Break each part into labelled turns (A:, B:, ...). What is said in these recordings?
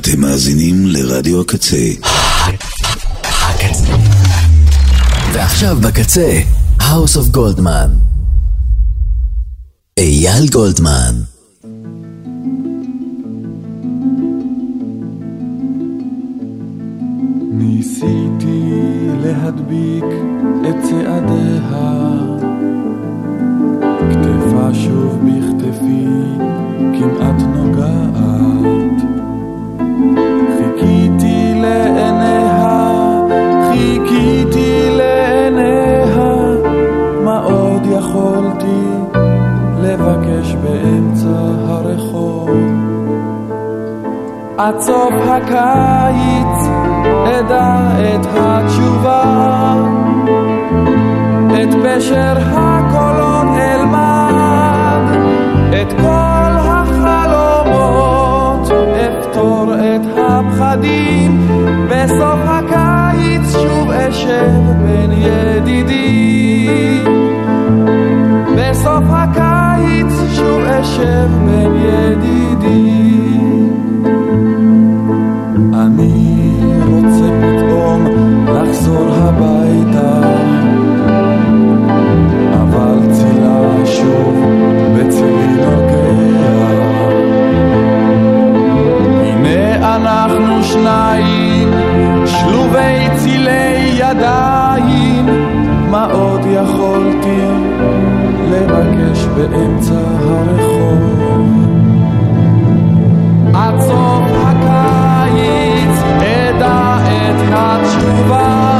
A: אתם מאזינים לרדיו הקצה.
B: הקצה. ועכשיו בקצה, House of Goldman. אייל גולדמן.
C: ניסיתי להדביק את צעדיה, כתפה שוב בכתפי כמעט נוגעת. חיכיתי לעיניה, מה עוד יכולתי לבקש באמצע הרחוב? עד סוף הקיץ אדע את התשובה, את פשר הקולון אלמד, את כל החלומות אפתור את הפחדים. בסוף הקיץ שוב אשב בין ידידים, בסוף הקיץ שוב אשב בין ידידים. אני רוצה פתאום לחזור הביתה, אבל צילה שוב בצילי נוגע. הנה אנחנו שניים שלובי צילי ידיים, מה עוד יכולתי לבקש באמצע הרחוב? עד סוף הקיץ אדע את התשובה,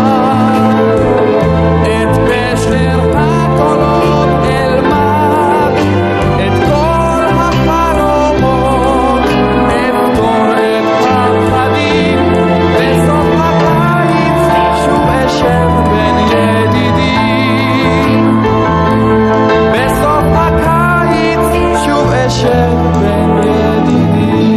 C: את פשר הקולות אלמד, את כל החלומות אפתור את הפחדים. בסוף הקיץ שוב אשב בין ידידים, בסוף הקיץ שוב אשב בין ידידים.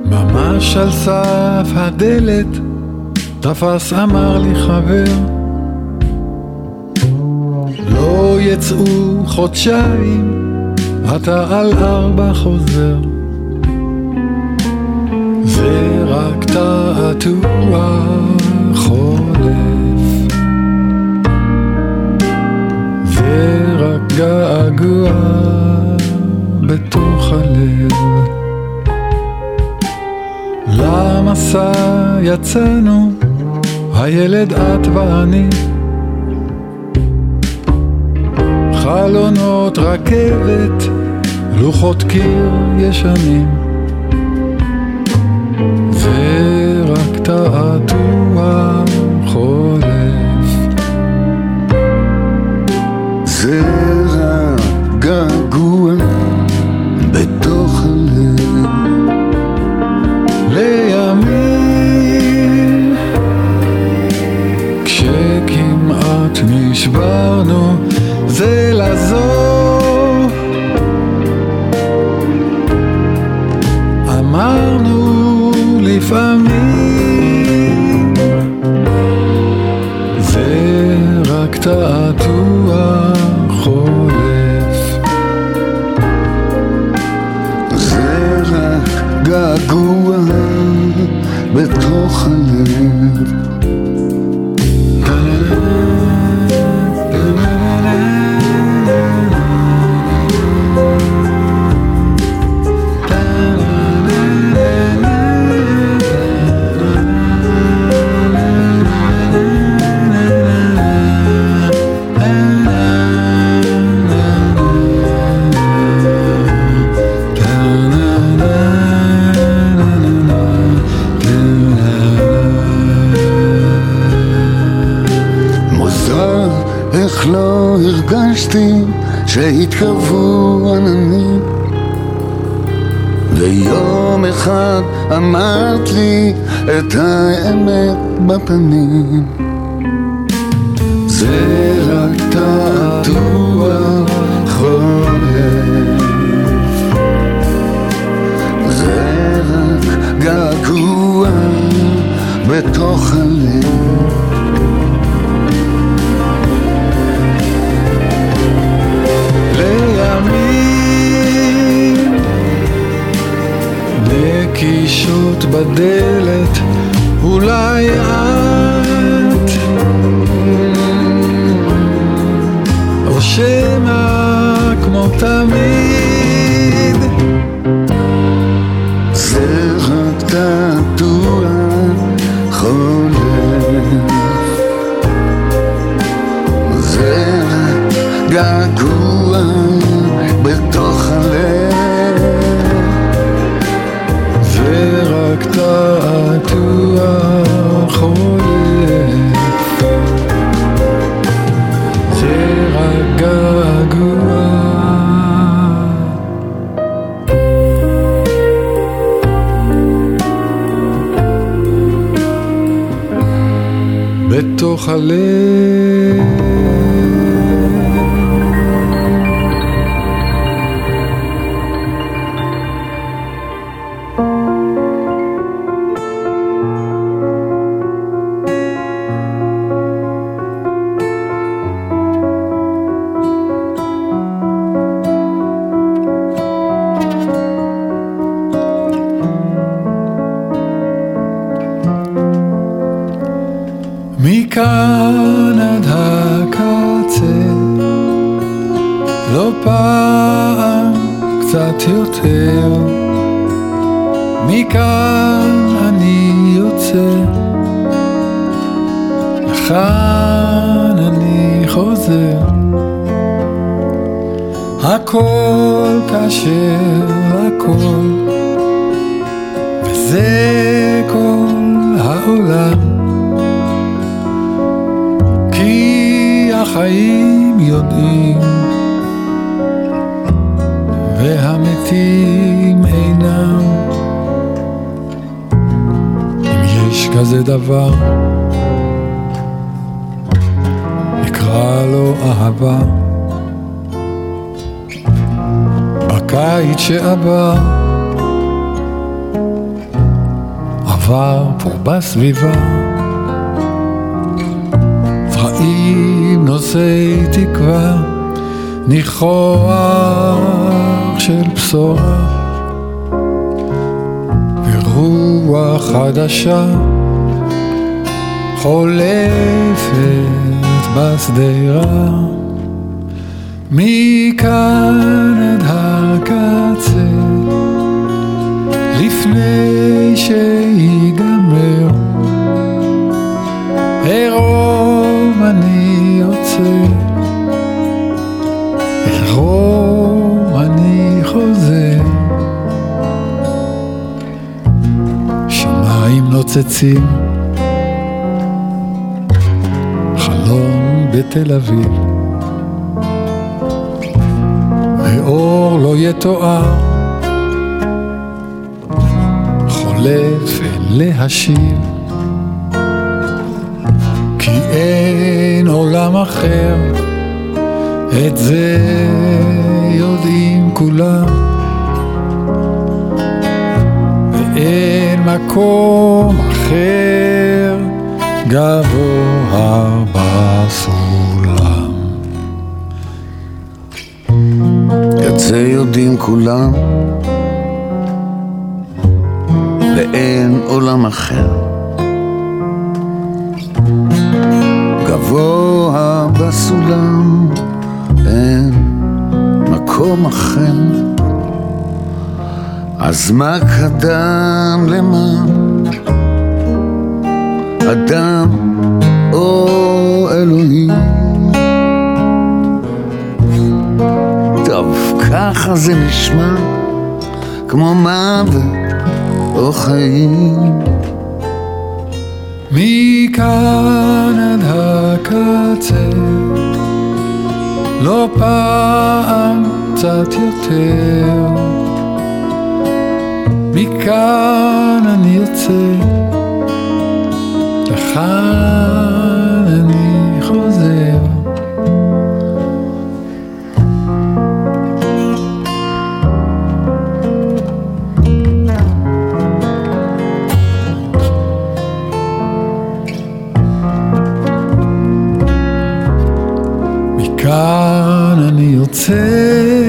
D: ממש על סף הדלת תפס אמר לי חבר, יצאו חודשיים, אתה על 4 חוזר, ורק תעתוע חולף, ורק געגוע בתוך הלב. למסע יצאנו, הילד את ואני, חלונות רכבת, לוחות קיר ישנים, ורק תעתוע חולף.
E: זה רק געגוע בתוך הלב,
D: לימים כשכמעט נשברנו זה לזו, אמרנו לפעמים, זה רק תעתוע חולף,
E: זה רק געגוע בתוך הלב. איך לא הרגשתי שהתקרבו עננים, ויום אחד אמרת לי את האמת בפנים, זה רק תעתוע חולף, זה רק געגוע בתוך הלב.
D: לימים נקישות בדלת, אולי את או שמא כמו תמיד,
E: זה רק תעתוע חולף, זה רק געגוע בתוך הלב,
D: ורק תעתוע חולף, זה רק געגוע בתוך הלב. מכאן עד הקצה, לא פעם קצת יותר, מכאן אני יוצא, לכאן אני חוזר, הכל כאשר הכל, וזה כל העולם, כי החיים יודעים והמתים אינם. אם יש כזה דבר, נקרא לו אהבה. בקיץ שעבר עבר פה בסביבה זרעים נושאי תקווה, ניחוח של בשורה ורוח חדשה חולפת בשדרה מכאן עד הקצה לפני שיגמר ערום אני יוצא ערום אני חוזר שמיים נוצצים חלום בתל אביב ואור לא יתואר חולף להשיב כי אין עולם אחר את זה יודעים כולם ואין מקום אחר גבוה בסולם
E: את זה יודעים כולם ואין עולם אחר גבוה בסולם אין מקום אחר אז מה קדם למה אדם או אלוהים טוב ככה זה נשמע כמו מוות או חיים
D: מכאן עד הקצה לא פעם קצת יותר מכאן אני יוצא לכאן אני חוזר מכאן אני יוצא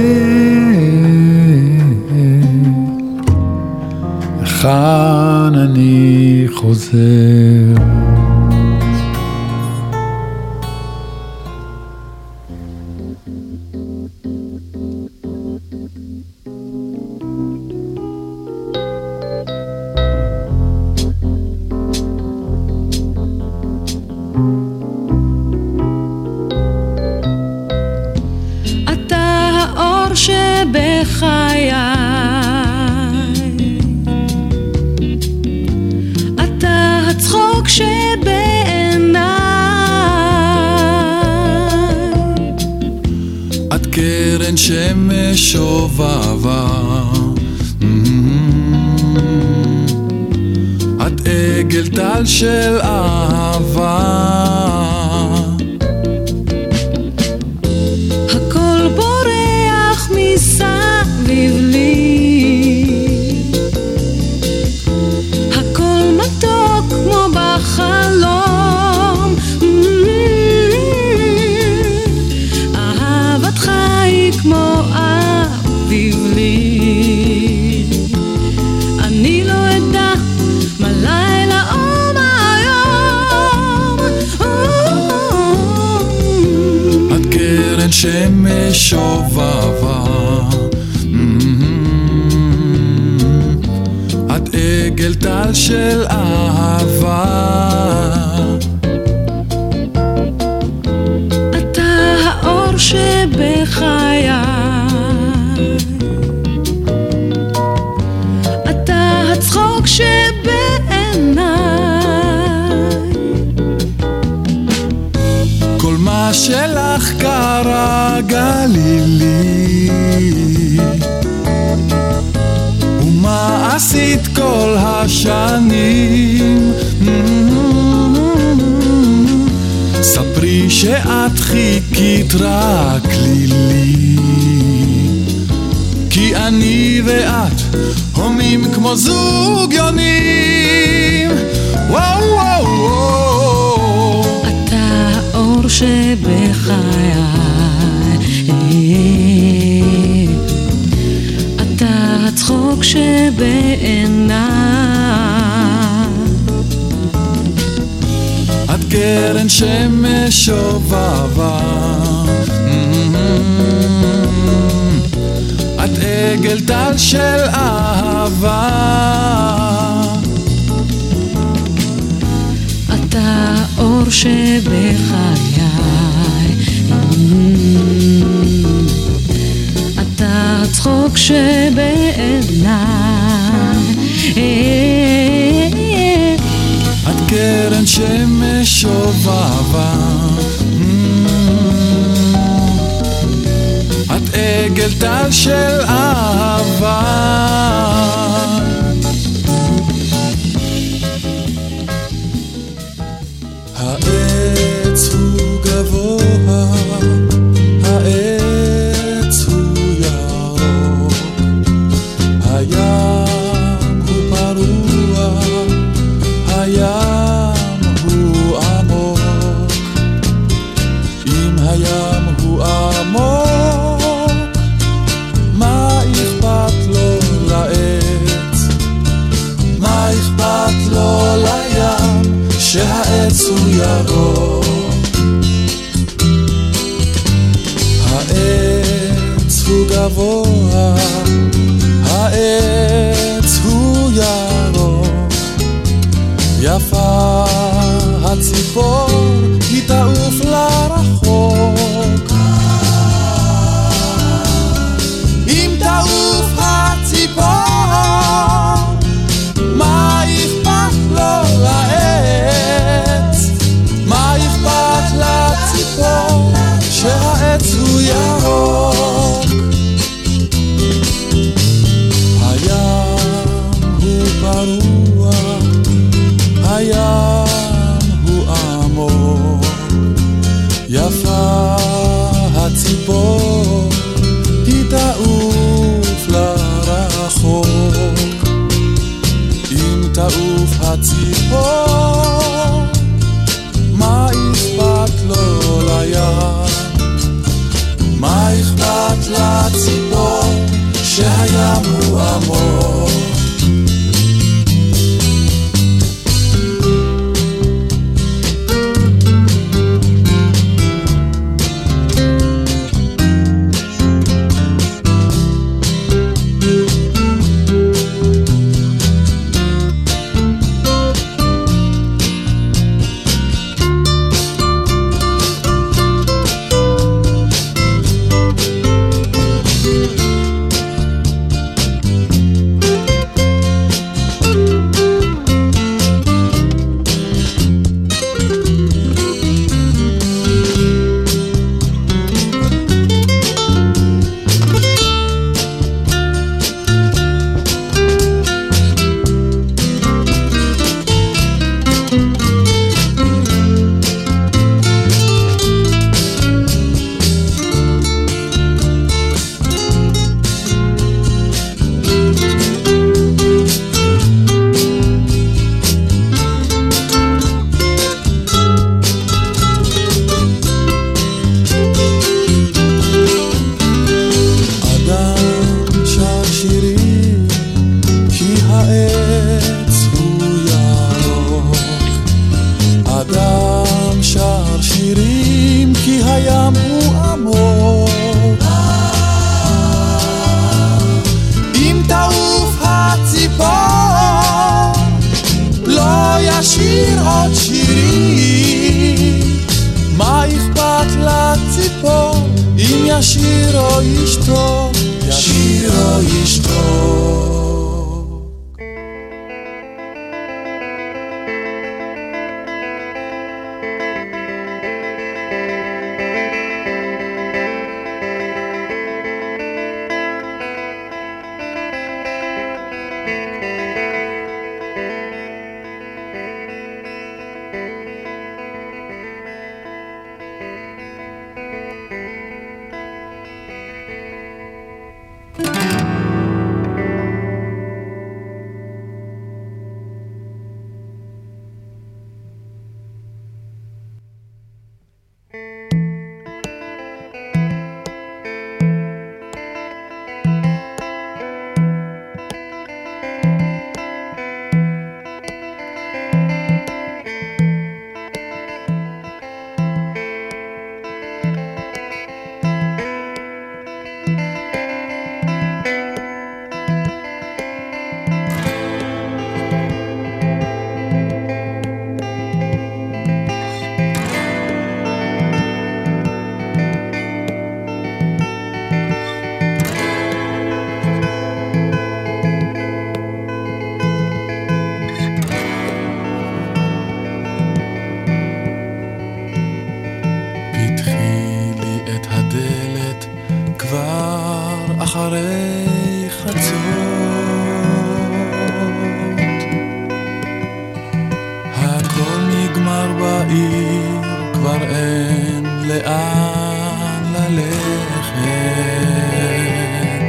D: לכאן אני חוזר
F: שבחיי אתה הצחוק שבעיניי
D: את קרן שמש שובבה את עגל טל של אהבה
F: מסביב לי הכל מתוק כמו בחלום אהבתך היא כמו אביב לי אני לא אדע מה לילה או מה יום
D: את קרן שמש שובבה את עגל טל של אהבה
F: אתה האור שבחיי אתה הצחוק שבעיניי
D: כל מה שלך קרה גלילי ומה עשית כל השנים ספרי שאת חיכית רק לי כי אני ואת הומים כמו זוג יונים וואו וואו וואו
F: אתה האור שבחיי שבעיניי.
D: את קרן שמש שובבה, את עגל טל של אהבה,
F: אתה אור שבחיי, אתה הצחוק שבעיניי.
D: את קרן שמש שובבה, את עגל טל של אהבה. העץ הוא גבוה, העץ הוא ירוק, הים הוא פרוע, הים הוא עמוק. אם הים הוא עמוק, מה אכפת לו לעץ? מה אכפת לו לים שהעץ הוא ירוק? העץ הוא גבוה, העץ הוא ירוק, יפה הציפור, היא תעוף לרחוק. אם תעוף הציפור, מה אכפת לו לעץ? מה אכפת לציפור שהעץ הוא ירוק? הים הוא פרוע, הים הוא עמוק, יפה הציפור, היא תעוף לרחוק. אם תעוף הציפור, מה אכפת לו לים? מה אכפת לציפור שהים הוא עמוק?
C: לשיר עוד שירים. מה אכפת לציפור אם ישיר או ישתוק, ישיר או ישתוק. אחרי חצות, הכל נגמר בעיר, כבר אין לאן ללכת,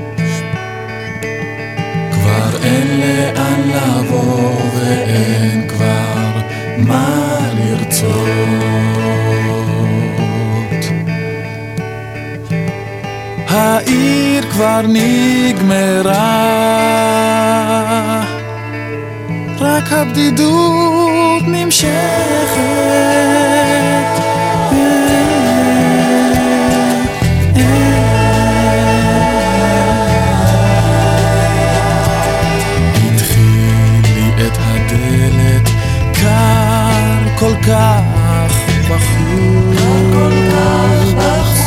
C: כבר אין לאן לבוא ואין כבר מה לרצות. העיר כבר נגמרה, רק הבדידות נמשכת. התחיל לי את הדלת, קר כל כך בחוץ,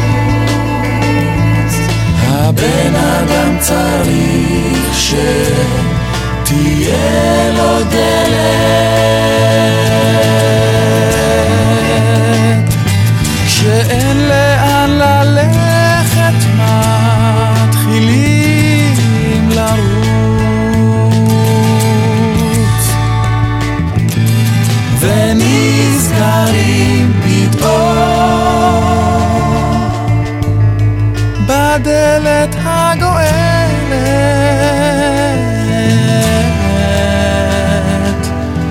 C: הבן אדם צריך שתהיה לו דלת, כשאין לאן ללכת מתחילים לרוץ, ונזכרים פתאום בדלת הגואלת.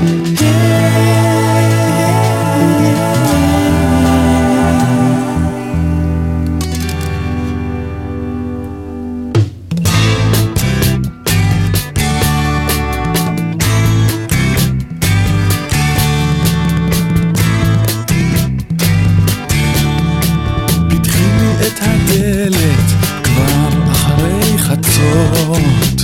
C: פתחי את הדלת כבר אחרי חצות,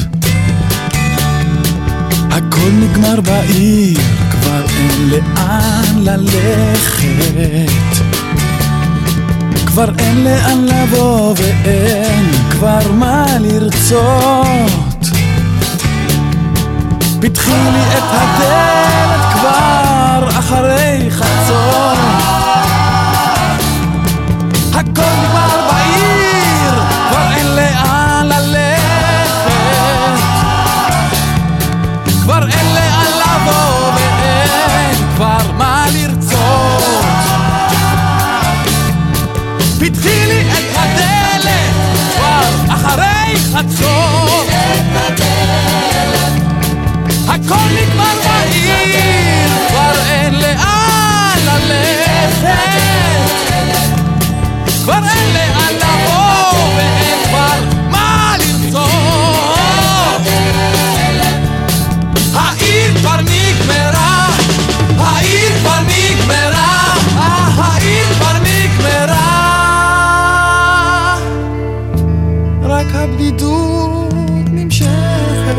C: הכל נגמר בעיר, כבר אין לאן ללכת, כבר אין לאן לבוא ואין כבר מה לרצות. פתחי לי את הדלת כבר אחרי חצות, הכל נגמר בעיר, כבר אין לאן ללכת, כבר אין לאן לבוא ואין כבר מה לרצות. פתחי לי את הדלת כבר אחרי חצות, הכל נגמר בעיר, כבר אין לאן ללכת, כבר אין לאן לבוא ואין כבר מה לרצות. העיר כבר נגמרה, העיר כבר נגמרה, העיר כבר נגמרה, רק הבדידות נמשכת.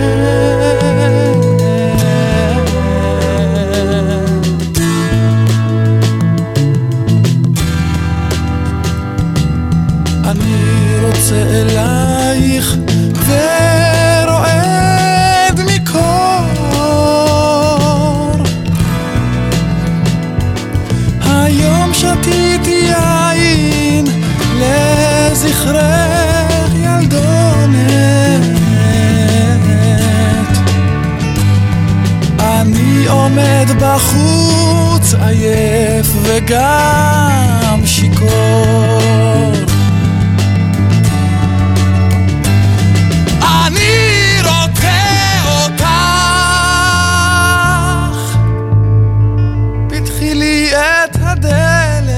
C: אני רוצה אלייך ורועד מקור, היום שתיתי יין לזכרך ילדונת, אני עומד בחוץ עייף וגם שיקור, אני רוצה אותך, פתחי לי את הדלת.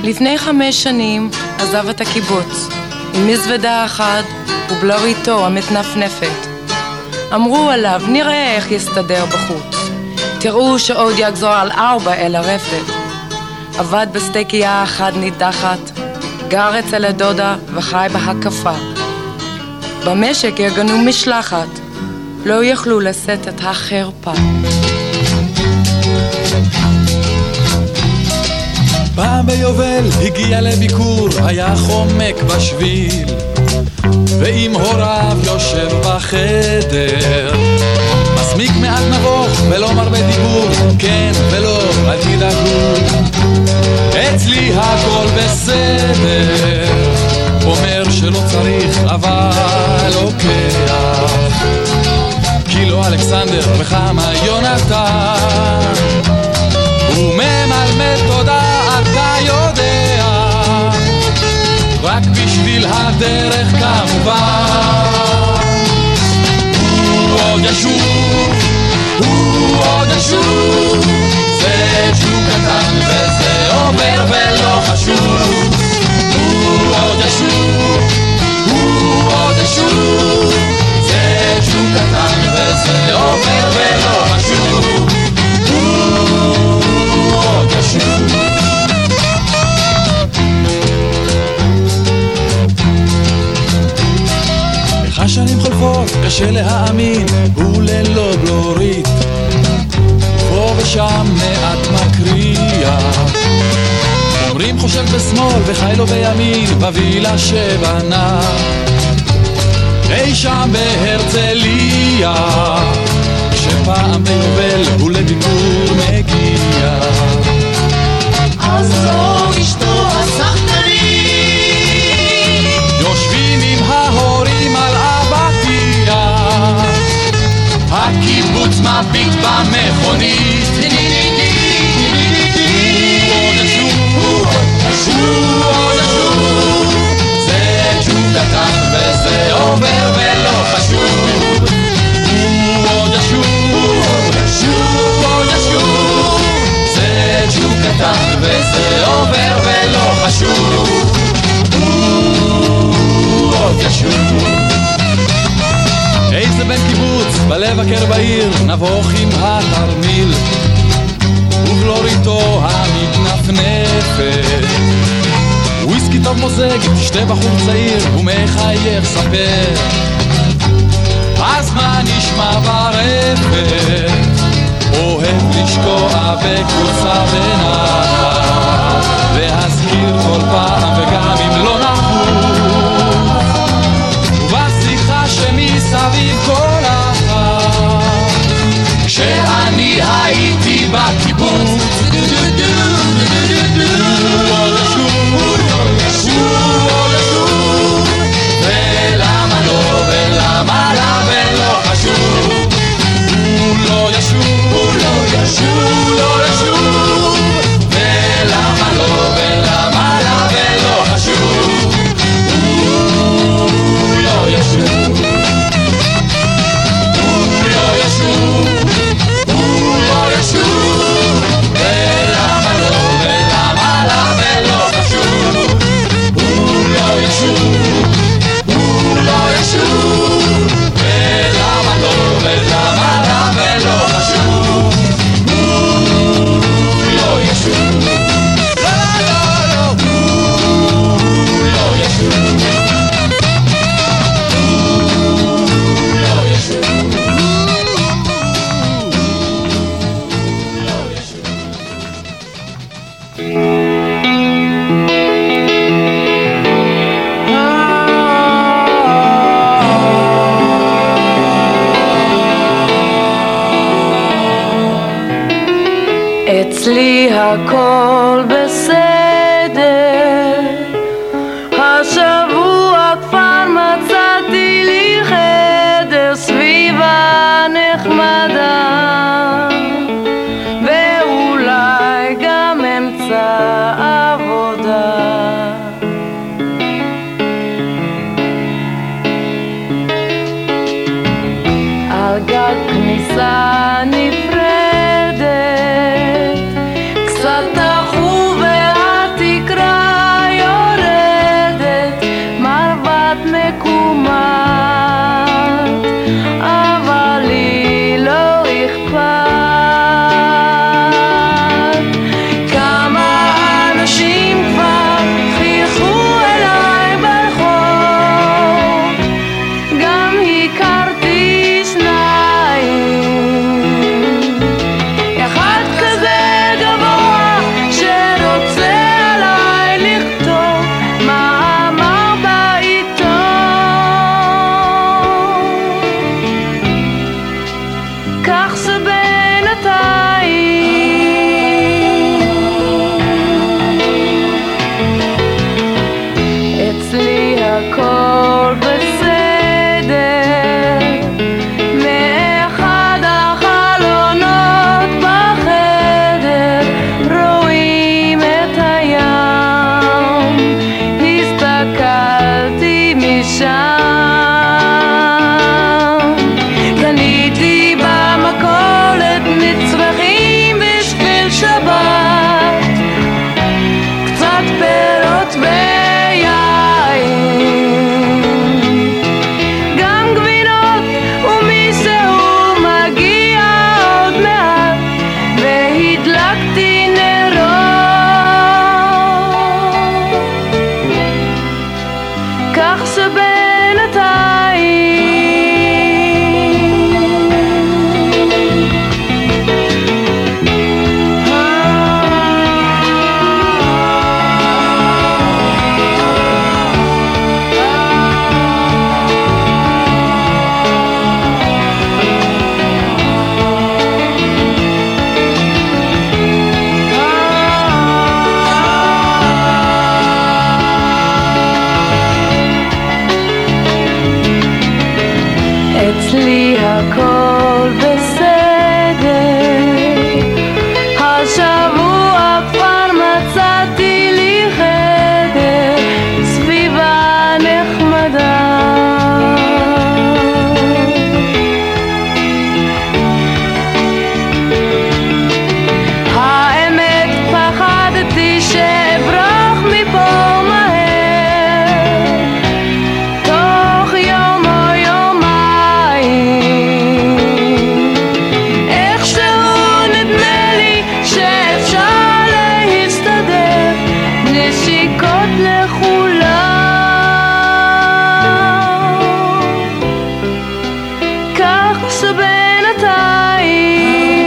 G: לפני 5 שנים עזב את הקיבוץ עם מזוודה אחת ובלוריתו המתנפנפת. אמרו עליו, נראה איך יסתדר בחוץ, תראו שעוד יגזור על 4 אל הרפת. עבד בסטייקייה אחת נידחת, גר אצל הדודה וחי בהקפה. במשק יגנו משלחת, לא יכלו לשאת את החרפה.
D: פעם ביובל הגיע לביקור, היה חומק בשביל, ועם הוריו יושב בחדר, מסמיק מעט נבוך ולא מרבה דיבור, כן ולא, אל תדאגו, אצלי הכל בסדר. אומר שלא צריך אבל לוקח, כי לא אלכסנדר וכמה יונתן, הוא ממלמד תודה אתה יודע, רק בשביל הדרך כמובן. הוא עוד ישוב, הוא עוד ישוב, זה שוב קטן וזה עובר ולא חשוב. הוא עוד ישוב, הוא עוד ישוב, זה שוב קטן וזה עובר ולא חשוב. הוא עוד ישוב. השנים חולפות, קשה להאמין, הוא ללא בלורית, פה ושם מעט מקריאה. אומרים חושב בשמאל וחי לו בימין, בווילה שבנה אי שם בהרצליה, שפעם ביובל הוא לביקור מגיע.
H: אז זו אשתו הסחטנית,
D: יושבים עם ההורים על אבטיה,
H: הקיבוץ מביט במכונית. הוא עוד ישוב, זה ג'וב קטן וזה עובר ולא חשוב. הוא עוד ישוב, הוא עוד ישוב, זה ג'וב קטן וזה עובר ולא חשוב. הוא עוד ישוב.
D: איזה בן קיבוץ בלב הקר בעיר, נבוך עם התרמיל ובלוריתו המתנפנפת, וויסקי טוב מוזג, תשתה בחור צעיר ומחייך ספר, אז מה נשמע ברפת? אוהב לשקוע בקורסה בנחת, להזכיר כל פעם וגם אם לא נחוץ, ובשיחה שמסביב כל אחת,
H: כשאני הייתי בקיבוץ. ולמה לא ולמה לה ולא חשוב. הוא לא ישוב, הוא לא ישוב, הוא לא ישוב, ולמה לא ולמה לה ולא חשוב. הוא לא ישוב, הוא לא ישוב, הוא לא ישוב, ולמה לא ולמה לה ולא חשוב. הוא לא ישוב, הוא לא ישוב, ולמה לא ולמה לה ולא חשוב. הוא לא ישוב, לא לא לא, הוא לא ישוב, הוא לא ישוב.
G: אצלי הכל בסדר, השבוע כבר מצאתי לי חדר, סביבה נחמדה, ואולי גם אמצע עבודה. על גג כניסה נפרדת, קצת תחו והתקרה כך זה בינתיים אצלי הכל בסדר מאחד החלונות בחדר רואים את הים הסתכלתי משם קניתי במכולת מצרכים בשביל שבת קצת פירות גם גבינות ומישהו מגיע עוד מעט והדלקתי נרות כך שבינתיים אצלי הכל בסדר השבוע כבר מצאתי לי חדר סביבה נחמדה האמת פחדתי שאברח מפה מהר תוך יום או יומיים איכשהו נדמה לי שאפשר להסתדר נשיקות לכולם כך שבינתיים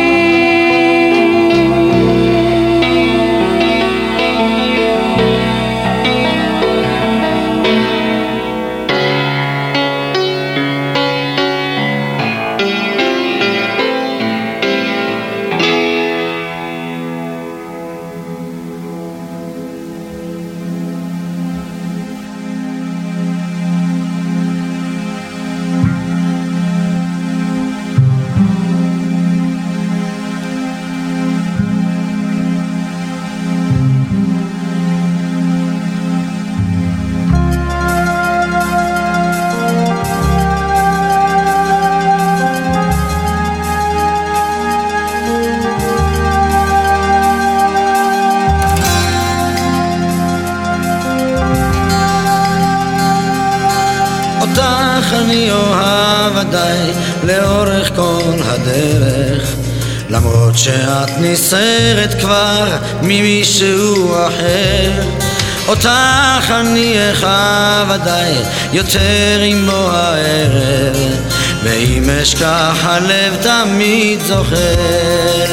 I: אותך אני אוהב עדיי לאורך כל הדרך למרות שאת נסערת כבר ממישהו אחר אותך אני אחב עדיי יותר עם בוא הערב ואם אשכח הלב תמיד זוכר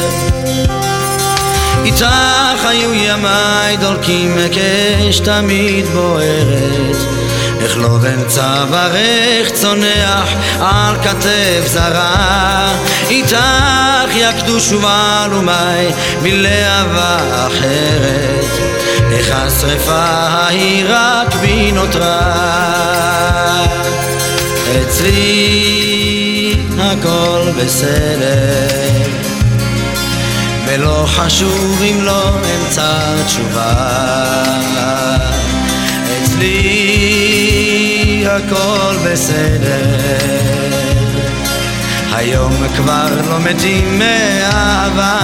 I: איתך היו ימיי דולקים מקש תמיד בוערת איך לא באמצע ברך צונח על כתף זרה איתך יקדוש ובעלומי בלהבה אחרת איך השרפה ההיא רק בי נותרה אצלי הכל בסדר ולא חשוב אם לא אמצע תשובה אצלי הכל בסדר היום כבר לא מתים מאהבה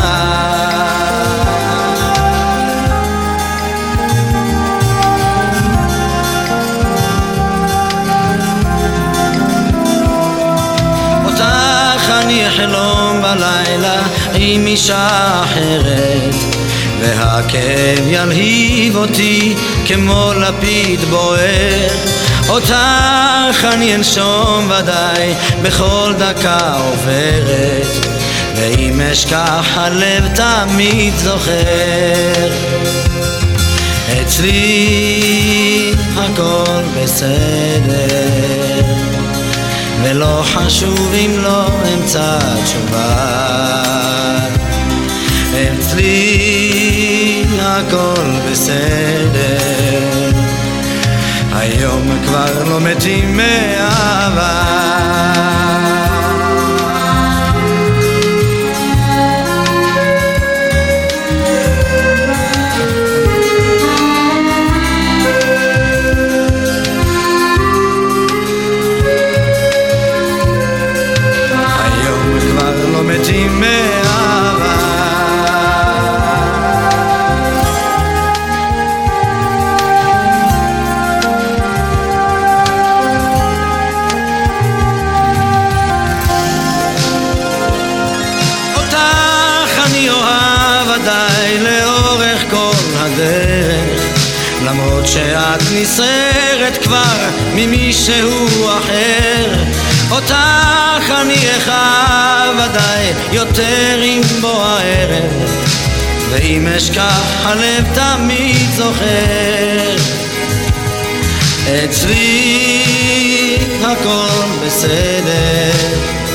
I: אותך אני אחלום בלילה עם אישה אחרת והכאב ילהיב אותי כמו לפיד בוער אותך אני אנשום ודאי בכל דקה עוברת ואם אשכח הלב תמיד זוכר אצלי הכל בסדר ולא חשוב אם לא אמצא תשובה. אצלי הכל בסדר, היום כבר לא מתים מאהבה. מתים מאהבה. אותך אני אוהב עדיי לאורך כל הדרך, למרות שאת נסערת כבר ממישהו אחר. אותך אני אחב עדיי יותר עם בוא הערב, ואם אשכח הלב תמיד זוכר. אצלי הכל בסדר,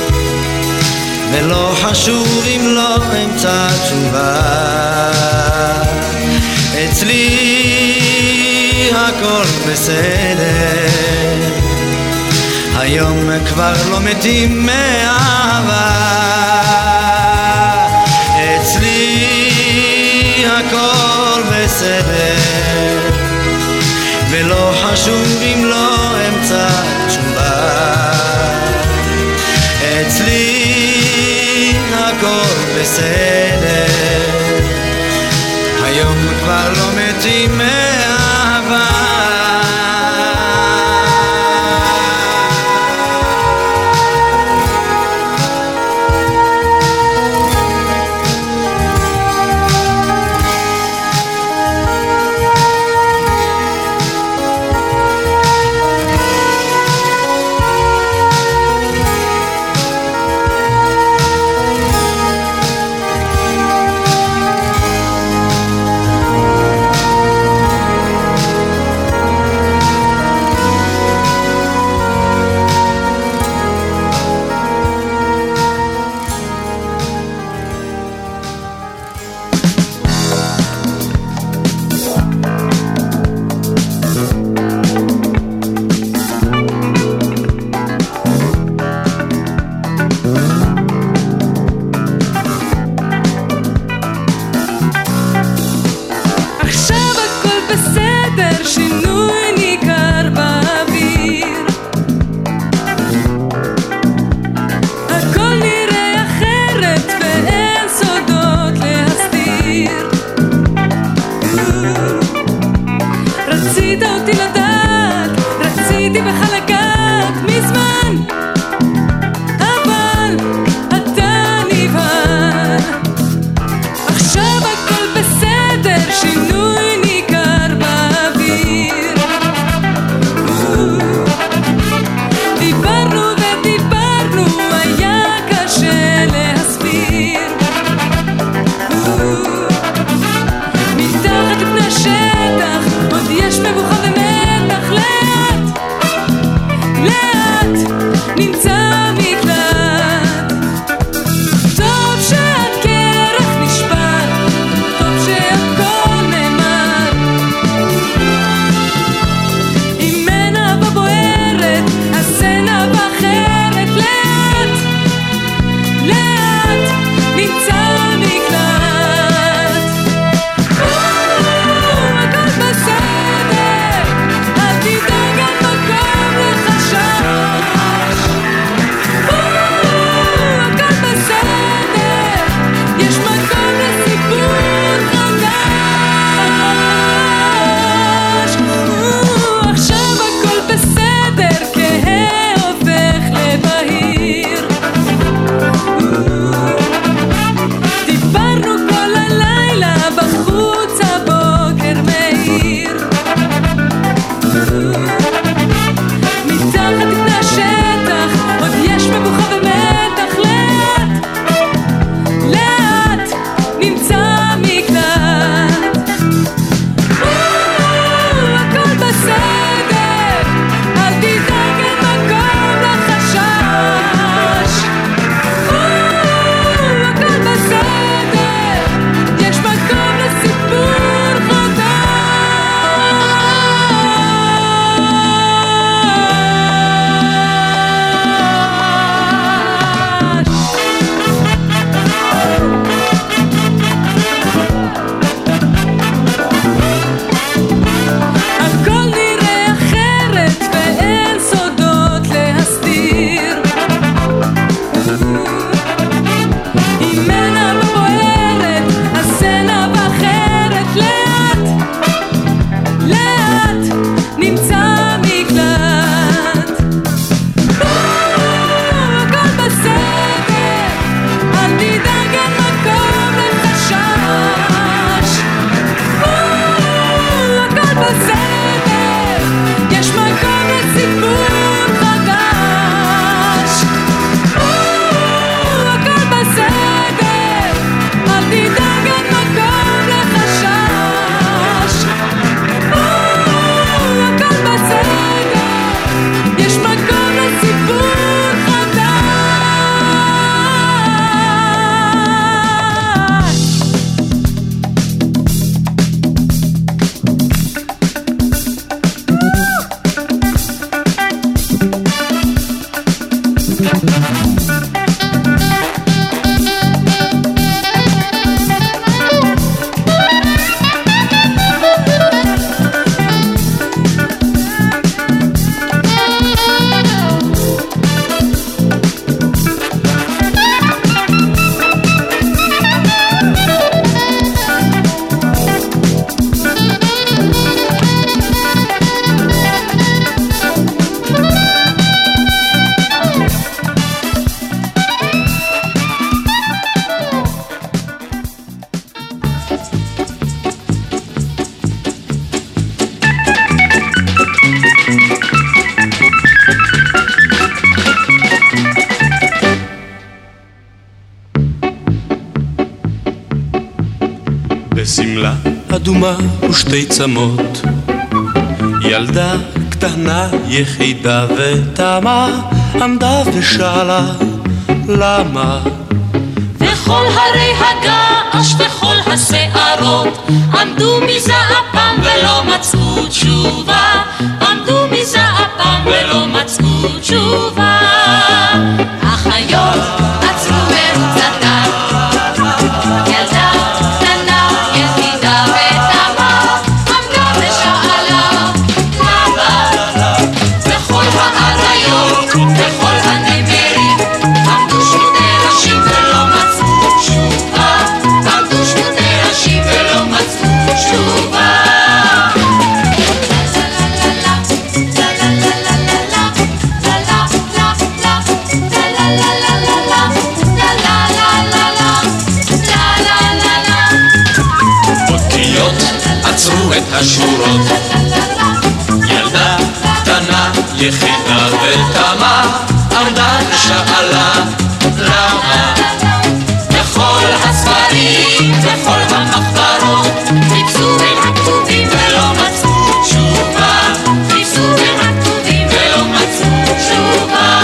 I: ולא חשוב אם לא אמצא תשובה. אצלי הכל בסדר, היום כבר לא מתים מאהבה. אצלי הכל בסדר, ולא חשוב אם לא אמצא תשובה. אצלי הכל בסדר, היום כבר לא מתים מאהבה.
J: עכשיו הכל בסדר, שינוי ניכר באוויר. בשמלה אדומה ושתי צמות, ילדה קטנה יחידה ותמה, עמדה ושאלה למה.
H: וכל הרי הגעש וכל השערות עמדו מזעפם ולא מצאו תשובה, עמדו מזעפם ולא מצאו תשובה. החיות עצרו מרוצתם, ילדה קטנה יחידה ותמה, עמדה ושאלה למה. וכל האריות וכל הנמרים עמדו שמוני ראשים ולא מצאו תשובה, עמדו שמוני ראשים ולא מצאו תשובה.
J: עצרו את השורות, ילדה קטנה יחידה ותמה, עמדה ושאלה למה. בכל הספרים וכל המחברות חיפשו בין הכתובים ולא מצאו תשובה, חיפשו בין הכתובים ולא מצאו תשובה.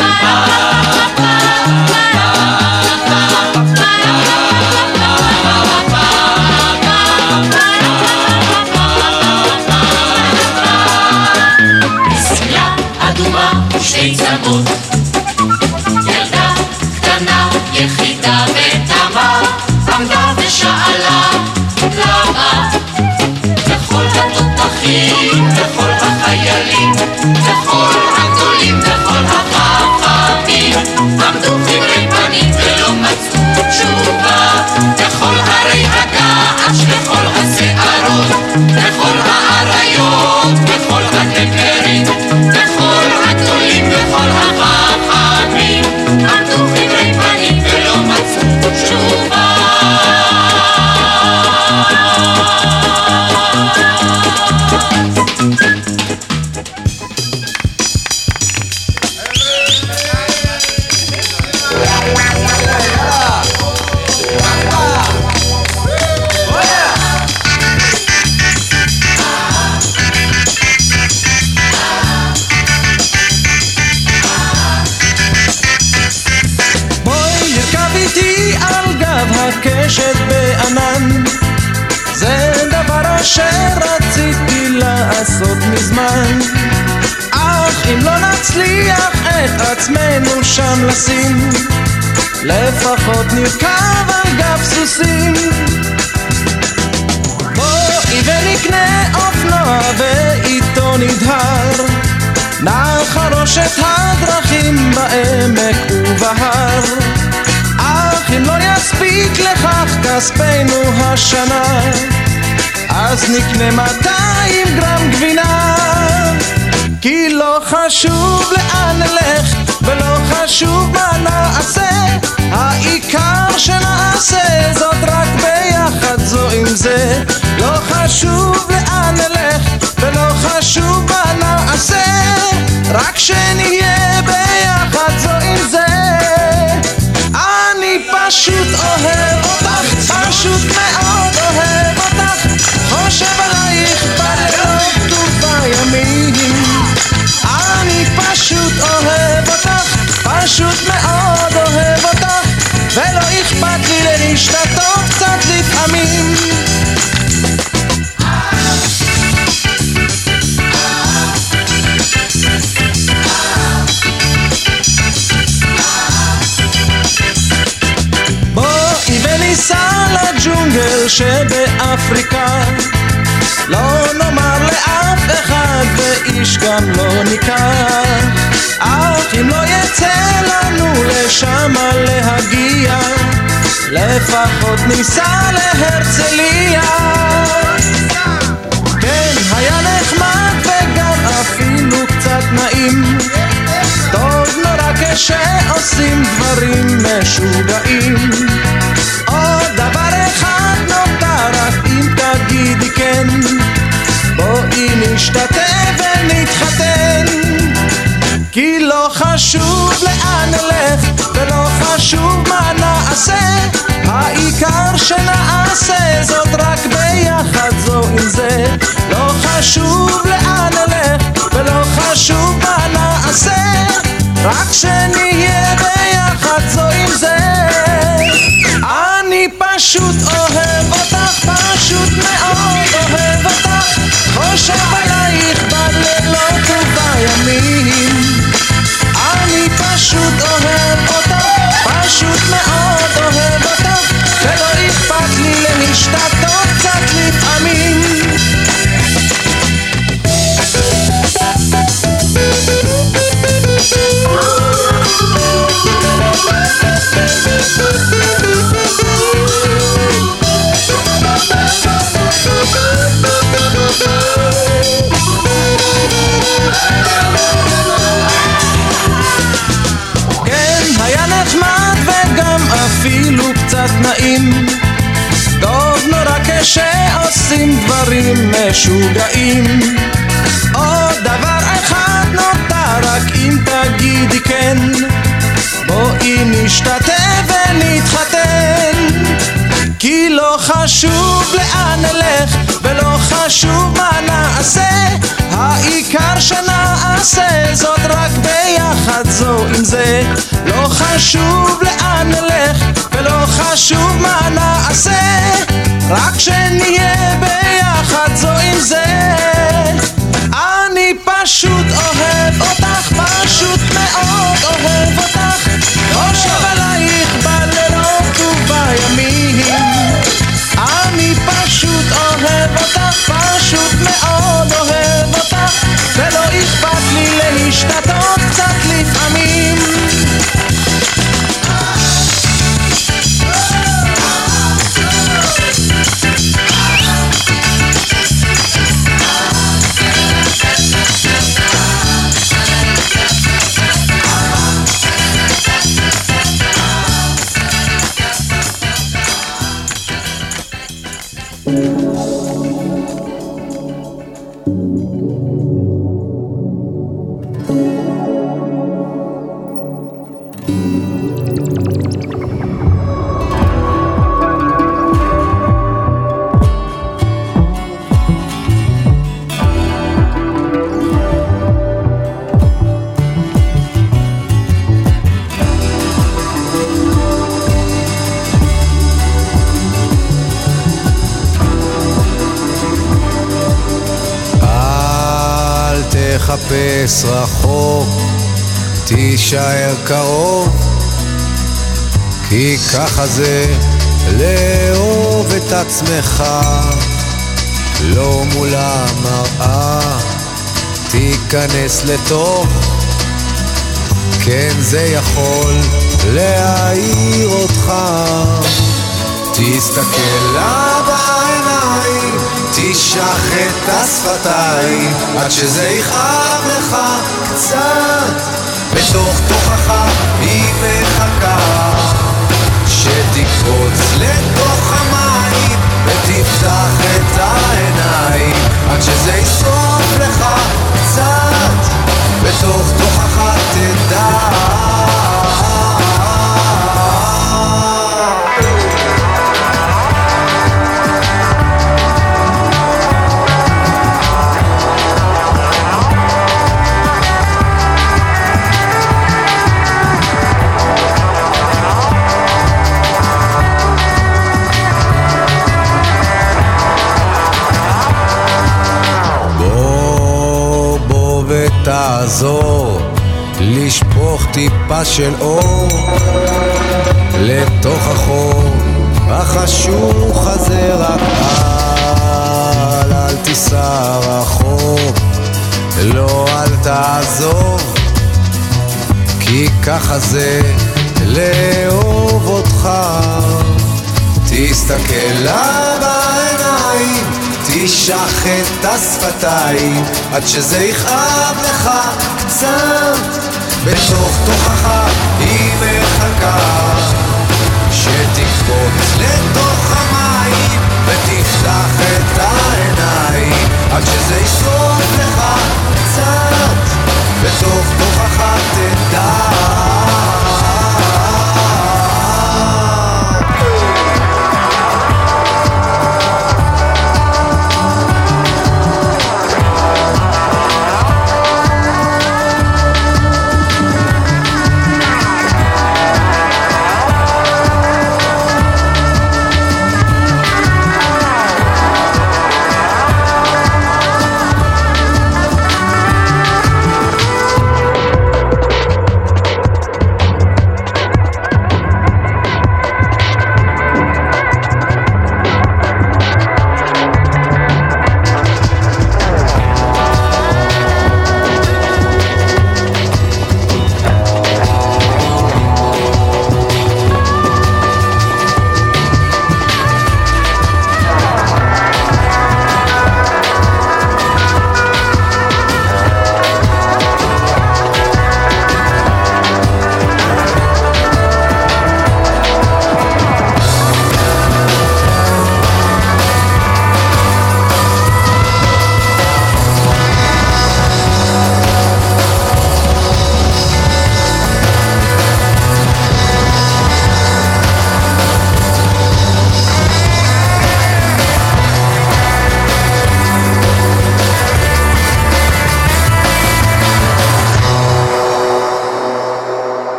J: שתי צמות, ילדה קטנה יחידה ותמה, עמדה ושאלה למה. וכל התותחים וכל החיילים וכל הגדולים וכל החכמים עמדו חברי פנים ולא מצאו תשובה. וכל הרי הגעש וכל השערות וכל האריות וכל הנמרים וכל הגדולים וכל החכמים עמדו חברי פנים ולא מצאו תשובה.
D: הקשת בענן, זה דבר שרציתי לעשות מזמן, אך אם לא נצליח את עצמנו שם לשים, לפחות נרכב על גב סוסים. בואי ונקנה אופנוע ואיתו נדהר, נחרוש את הדרכים בעמק ובהר, אך אם לא יספיק לכך כספנו השנה, אז נקנה 200 גרם גבינה. כי לא חשוב לאן נלך ולא חשוב מה נעשה, העיקר שנעשה זאת רק ביחד זו עם זה. לא חשוב לאן נלך ולא חשוב מה נעשה, רק שנהיה ביחד זו עם זה. אני פשוט אוהב אותך, פשוט מאוד אוהב אותך, חושב עלייך בלילות ובימים. אני פשוט אוהב אותך, פשוט מאוד אוהב אותך, ולא אכפת לי להשתתות קצת לפעמים. וניסע לג'ונגל שבאפריקה, לא נאמר לאף אחד ואיש גם לא ניקח, אך אם לא יצא לנו לשם להגיע, לפחות ניסע להרצליה. כן, היה נחמד וגם אפילו קצת נעים, טוב נורא כשעושים דברים משוגעים. עוד דבר אחד נותר, רק אם תגידי כן, בואי נשתתף ונתחתן. כי לא חשוב לאן נלך ולא חשוב מה נעשה, העיקר שנעשה זאת רק התנאים. טוב נורא כשעושים דברים משוגעים. עוד דבר אחד נותר, רק אם תגידי כן, בואי נשתתף ונתחתן. כי לא חשוב לאן נלך ולא חשוב מה נעשה, העיקר שנעשה זאת רק ביחד זו עם זה. לא חשוב לאן נלך ולא חשוב מה נעשה, רק שנהיה ביחד זו עם זה. אני פשוט אוהב אותך, פשוט מאוד אוהב אותך, חושב עלייך בלילות ובימים. אני פשוט אוהב אותך, פשוט מאוד אוהב אותך, ולא אכפת לי להשתתות קצת לפעמים.
K: תחפש רחוק, תישאר קרוב, כי ככה זה לאהוב את עצמך. לא מול המראה, תיכנס לתוך, כן זה יכול להעיר אותך. תסתכל לה בעיניים, תשחט את השפתיים, עד שזה יכאב לך קצת. בתוך תוכך היא מחכה שתקפוץ לתוך המים, ותפתח את העיניים עד שזה ישרוף לך קצת. בתוך תוכך תדע תעזור לשפוך טיפה של אור לתוך החור החשוך הזה. רק אל תיסע רחוק, לא אל תעזוב, כי ככה זה לאהוב אותך. תסתכל לה בעיניים, תשחט את השפתיים, עד שזה יכאב לך קצת. בתוך תוכך היא מחכה שתקפוץ לתוך המים, ותפתח את העיניים עד שזה ישרוף לך קצת. בתוך תוכך תדע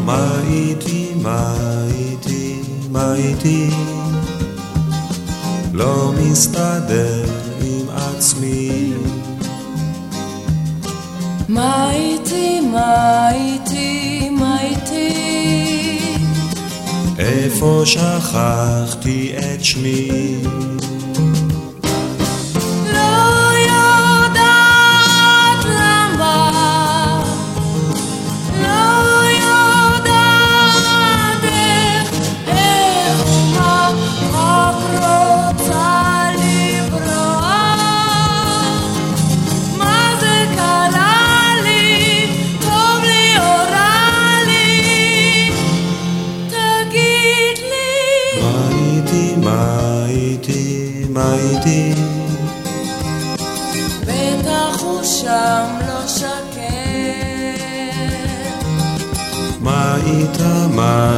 L: מה איתי לא מסתדר עם עצמי
G: מה איתי
L: איפה שכחתי את שמי
G: לא יודעת למה לא יודעת איך מה רק רוצה לברוח מה זה קרה לי טוב לי או רע לי תגיד לי
L: מה איתי
G: בטח הוא שם לא שקט
L: מה איתה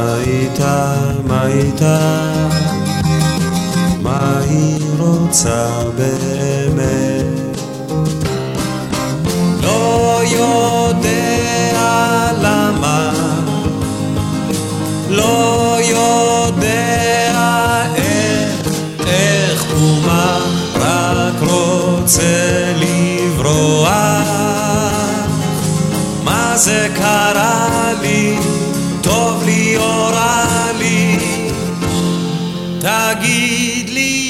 L: מה היא רוצה באמת לא יודע למה לא יודע איך ומה רק רוצה לברוח מה זה קרה לי טוב לי או רע לי תגיד לי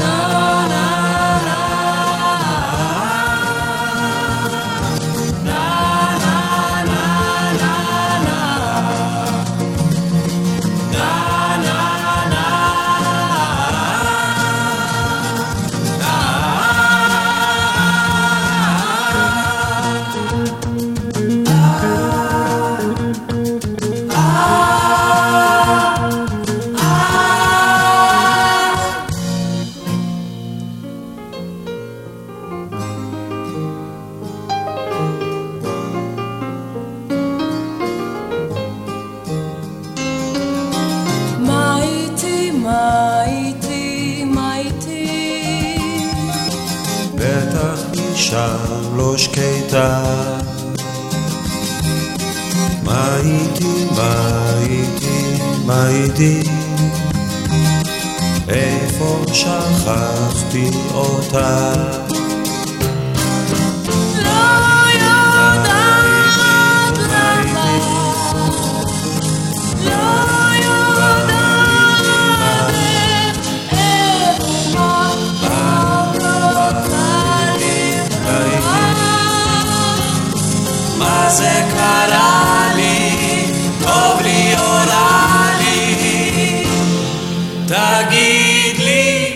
L: שם לא שקטה מה איתי איפה שכחתי אותה זה קרה לי, טוב לי או רע לי, תגיד לי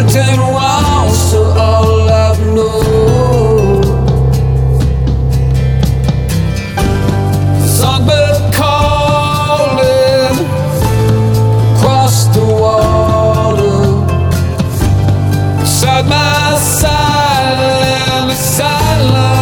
D: Skeleton walls are all I've known. Songbird calling across the water, beside my silent silence.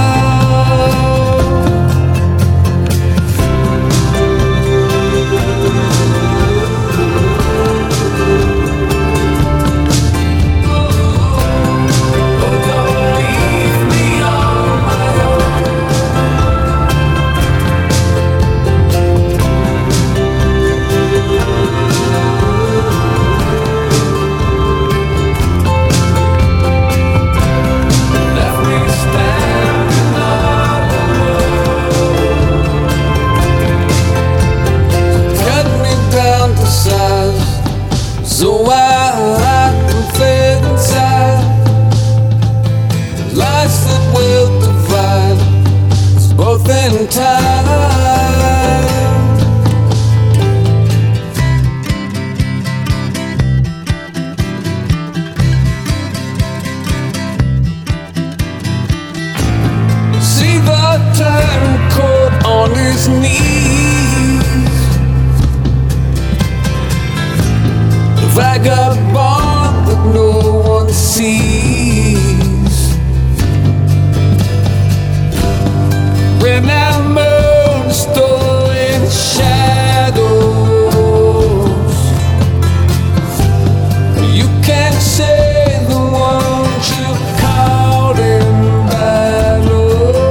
D: So I can fit inside lies that will divide us both in time. See the turncoat on his knees, vagabond that no one sees. When that moon stole in shadows, you can't say the ones you caught in battle.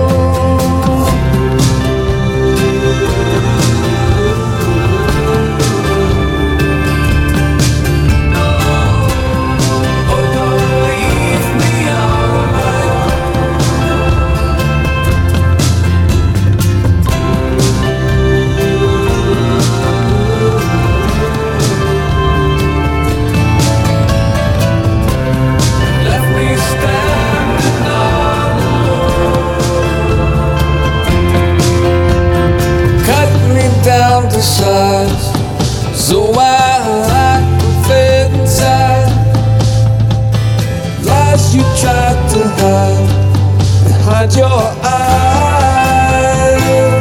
D: Down to size, so I can fit inside lies you tried to hide behind your eyes.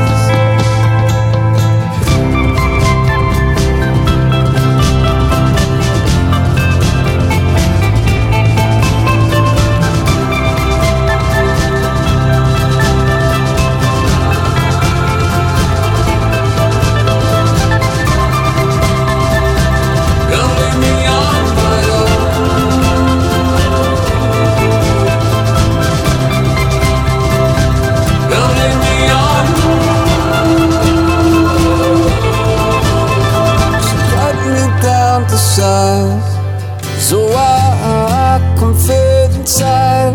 D: So I can fit inside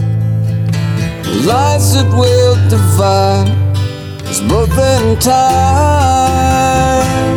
D: lies that will divide us both in time.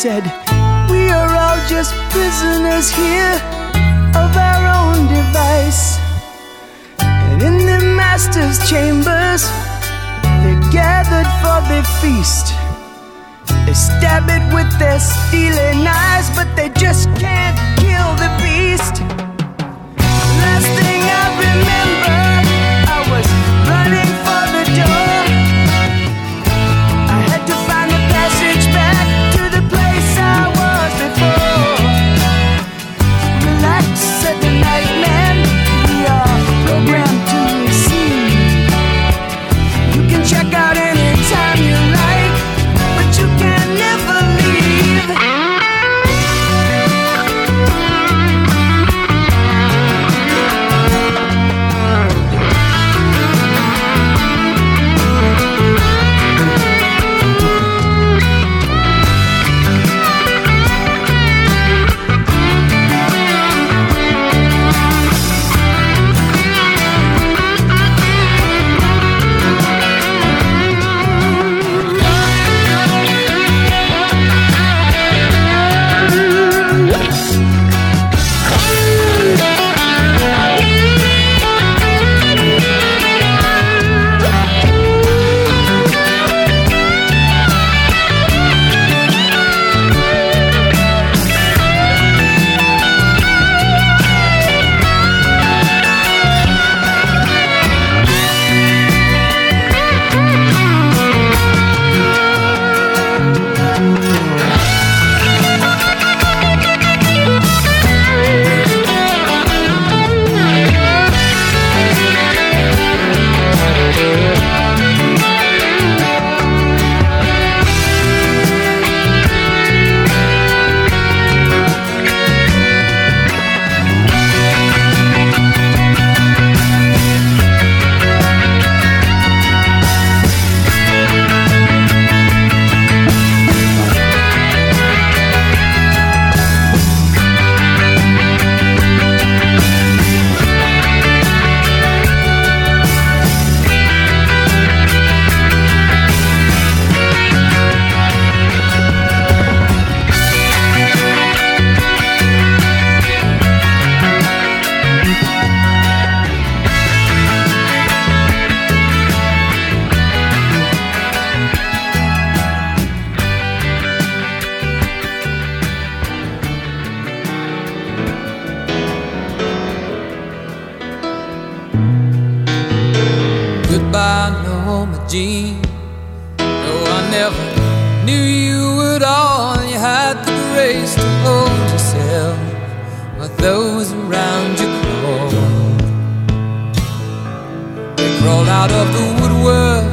M: said, we are all just prisoners here of our own device. And in the master's chambers, they're gathered for the feast. They stab it with their stealing knives, but they just can't kill the beast. Last thing I remember, I was running for the door. I had to find a passage back to the place I was before. Relax, said the night man, we are programmed to receive. You can check out anytime you like, but you can never leave.
D: Goodbye, Norma Jean. No, I never knew you at all. You had the grace to hold yourself while those around you crawled. They crawled out of the woodwork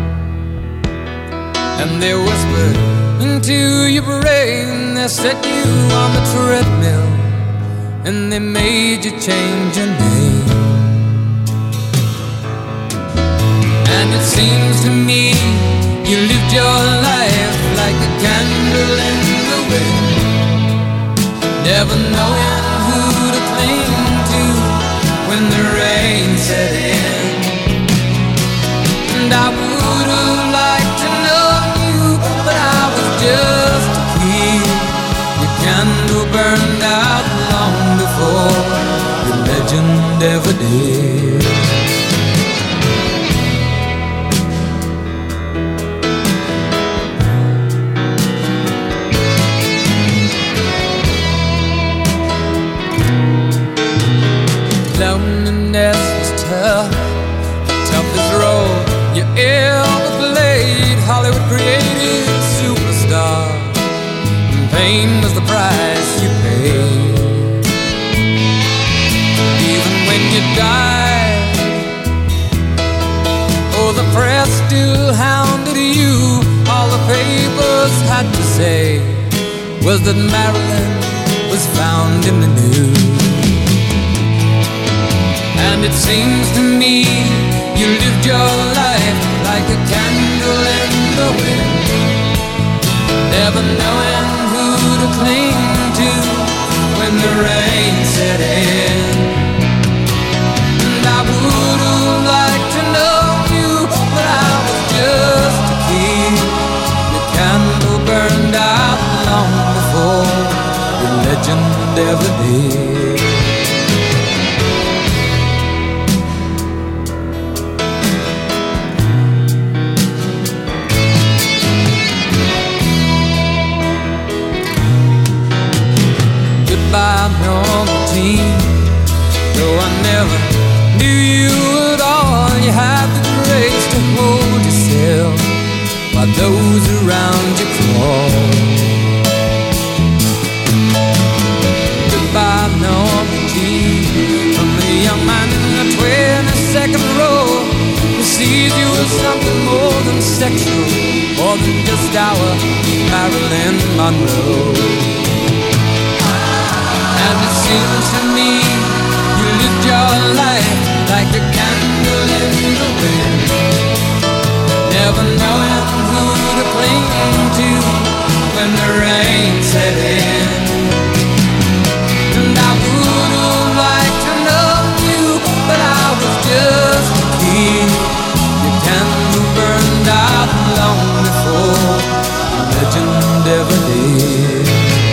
D: and they whispered into your brain. They set you on the treadmill and they made you change your name. And it seems to me you lived your life like a candle in the wind, never knowing who to cling to when the rain set in. And I would have liked to know you, but I was just a kid. Your candle burned out long before the legend ever did. Loneliness was tough, the toughest role you ever played. Hollywood created superstar, and pain was the price you paid. Even when you died, oh, the press still hounded you. All the papers had to say was that Marilyn was found in the news. And it seems to me you lived your life like a candle in the wind, never knowing who to cling to when the rain set in. And I would have liked to know you, but I was just a kid. The candle burned out long did. Goodbye, Normandy. Though I never knew you at all, you had the grace to hold yourself while those around you crawl. Goodbye, Normandy, from the young man in the 22nd row who sees you as something more than sexual, more than just our Marilyn Monroe. And it seems to me you lived your life like a candle in the wind, never knowing who to cling to when the rain set in. And I would have liked to know you, but I was just a kid. Your candle burned out long before the legend ever did.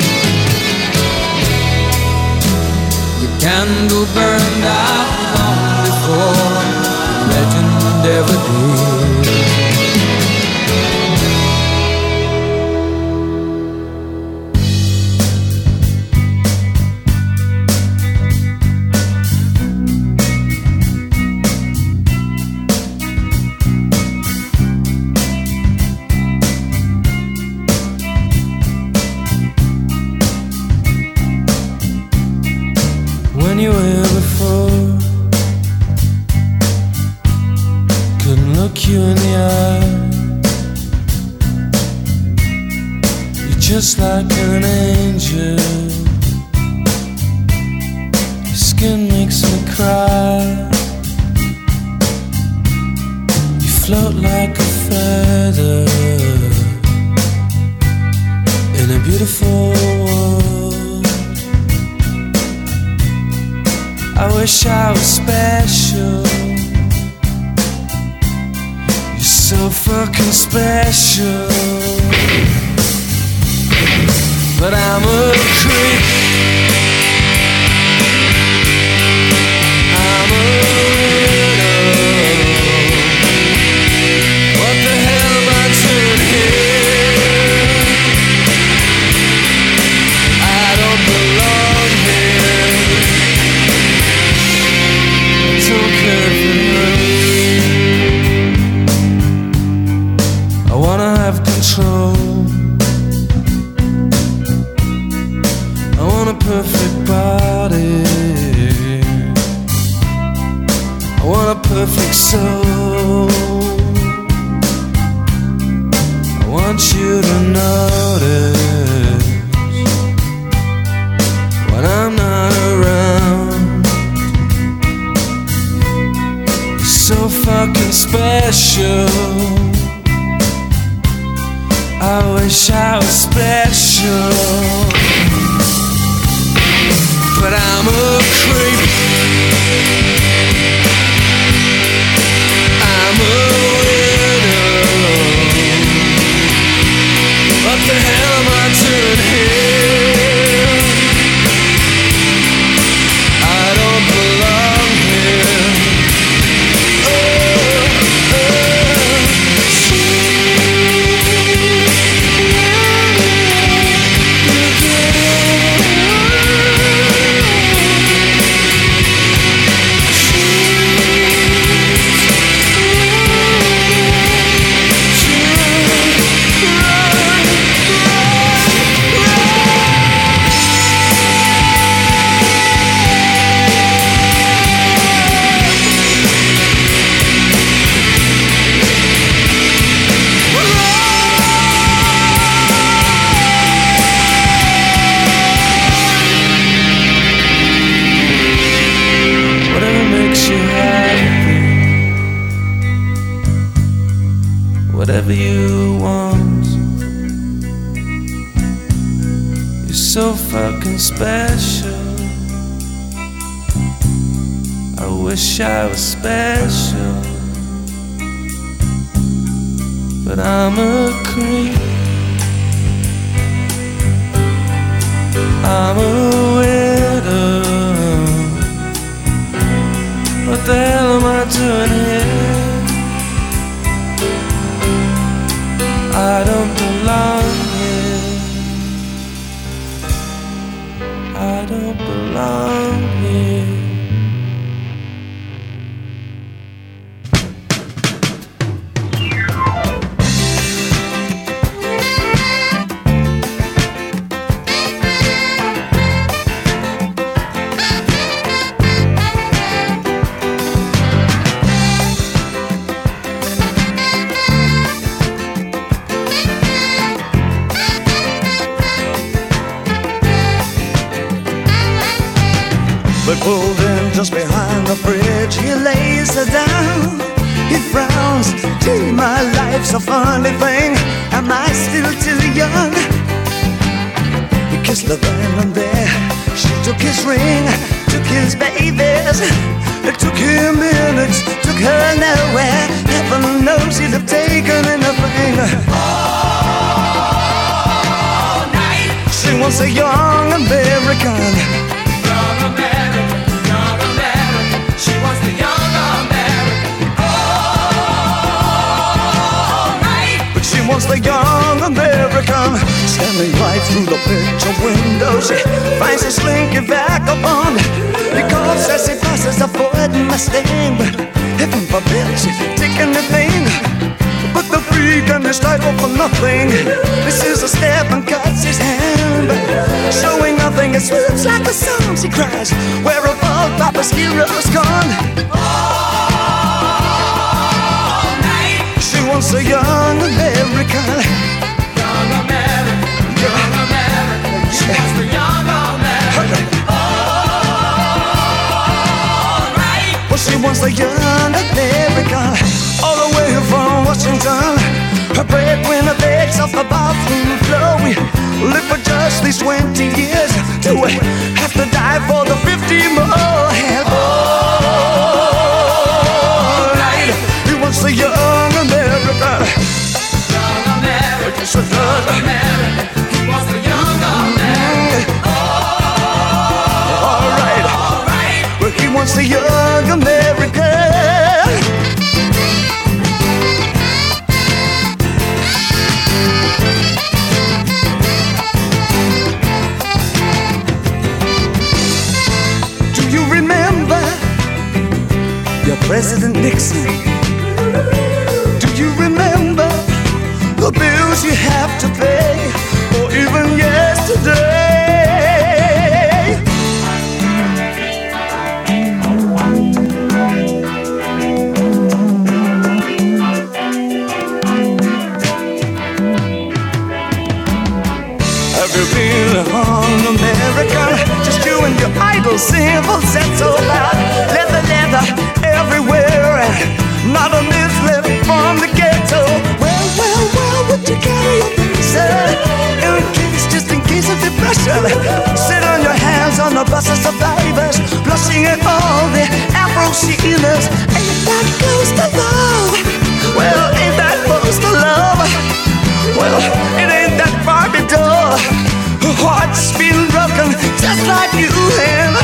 D: Candle burned out long before the legend ever did. When you were here before, couldn't look you in the eye. You're just like an angel. Your skin makes me cry. You float like a feather in a beautiful world. I wish I was special. You're so fucking special. But I'm a creep. I'm a widow. What the hell am I doing here? I don't belong here. I wanna have control. I want a perfect body. I want a perfect soul. I want you to notice when I'm not around. So fucking special. I wish I was special, but I'm a creep. I'm a widow. What the hell am I doing here? I don't belong here. Whatever you want, you're so fucking special. I wish I was special, but I'm a creep. I'm a widow.
L: What the hell am I doing here? I don't belong here. I don't belong here.
K: But pulled in just behind the bridge, he lays her down. He frowns, gee, my life's a funny thing. Am I still too young? He kissed her then and there. She took his ring, took his babies. It took him minutes, took her nowhere. Heaven knows he'd have taken anything. All night. She wants a young American. She wants the young American. All right. But she wants the young American. Standing right through the picture window, she finds a slinky vagabond. He coughs as he passes a Ford Mustang. But heaven forbid she's take anything but the freak and his title for nothing. This is a step and cuts his hand, showing nothing. It swoops like a song. She cries, where have all Papa's heroes gone? All night. She wants a young American. Young American. Young American. She wants the young American. All right. Well, she wants the young American. All the way from Washington, her breadwinner begs off the bathroom floor. We live for just these 20 years till we have to die for the 50 more. And all right, he wants the young American. Young American, yes, young American. He wants the young American. All right, well, he wants the young American. President Nixon, do you remember the bills you have to pay, or even yesterday? Have you been on America? Just you and your idle symbols, that's so loud. Leather everywhere, and not a miss left from the ghetto. Well, would you carry your visa? Just in case of depression. Sit on your hands on the bus of survivors, blushing at all the Afro-Sheilas. Ain't that close to love? Well, ain't that close to love? Well, it ain't that Barbie doll. Her heart's been broken just like you and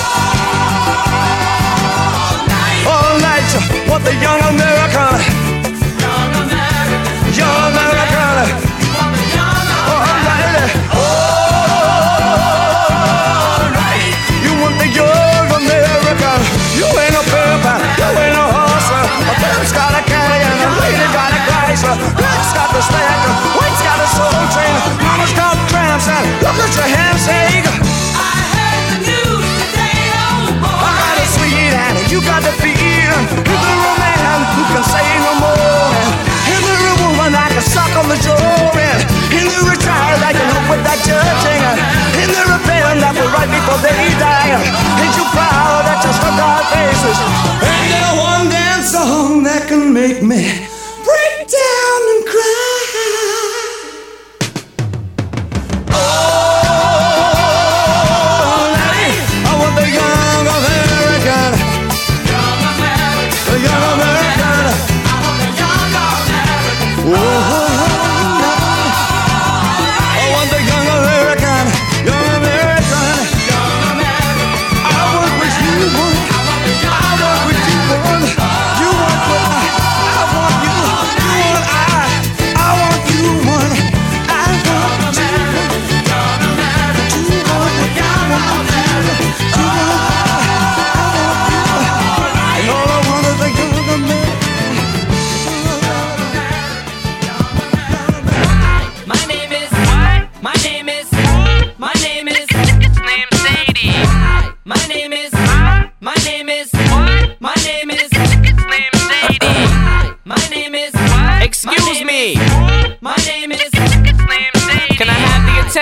K: what the young American, young American, young American, all right, you want the young American. You ain't a pimp, you ain't a horse. A pimp's got a canyon, a lady got a Chrysler. Black's got the stack, white's got a soul train. Mama's got cramps and look at your handshake. I heard the news today, oh boy. I got a sweet hand, you got the feet. Is there a man who can say no more? Is there a woman I can suck on the jaw? Is there a child I can help with that judging? Is there a pen that will write before they die? Ain't you proud that you struck our faces? Ain't there one dance song that can make me break down and cry? I work with you, boy. I work with you.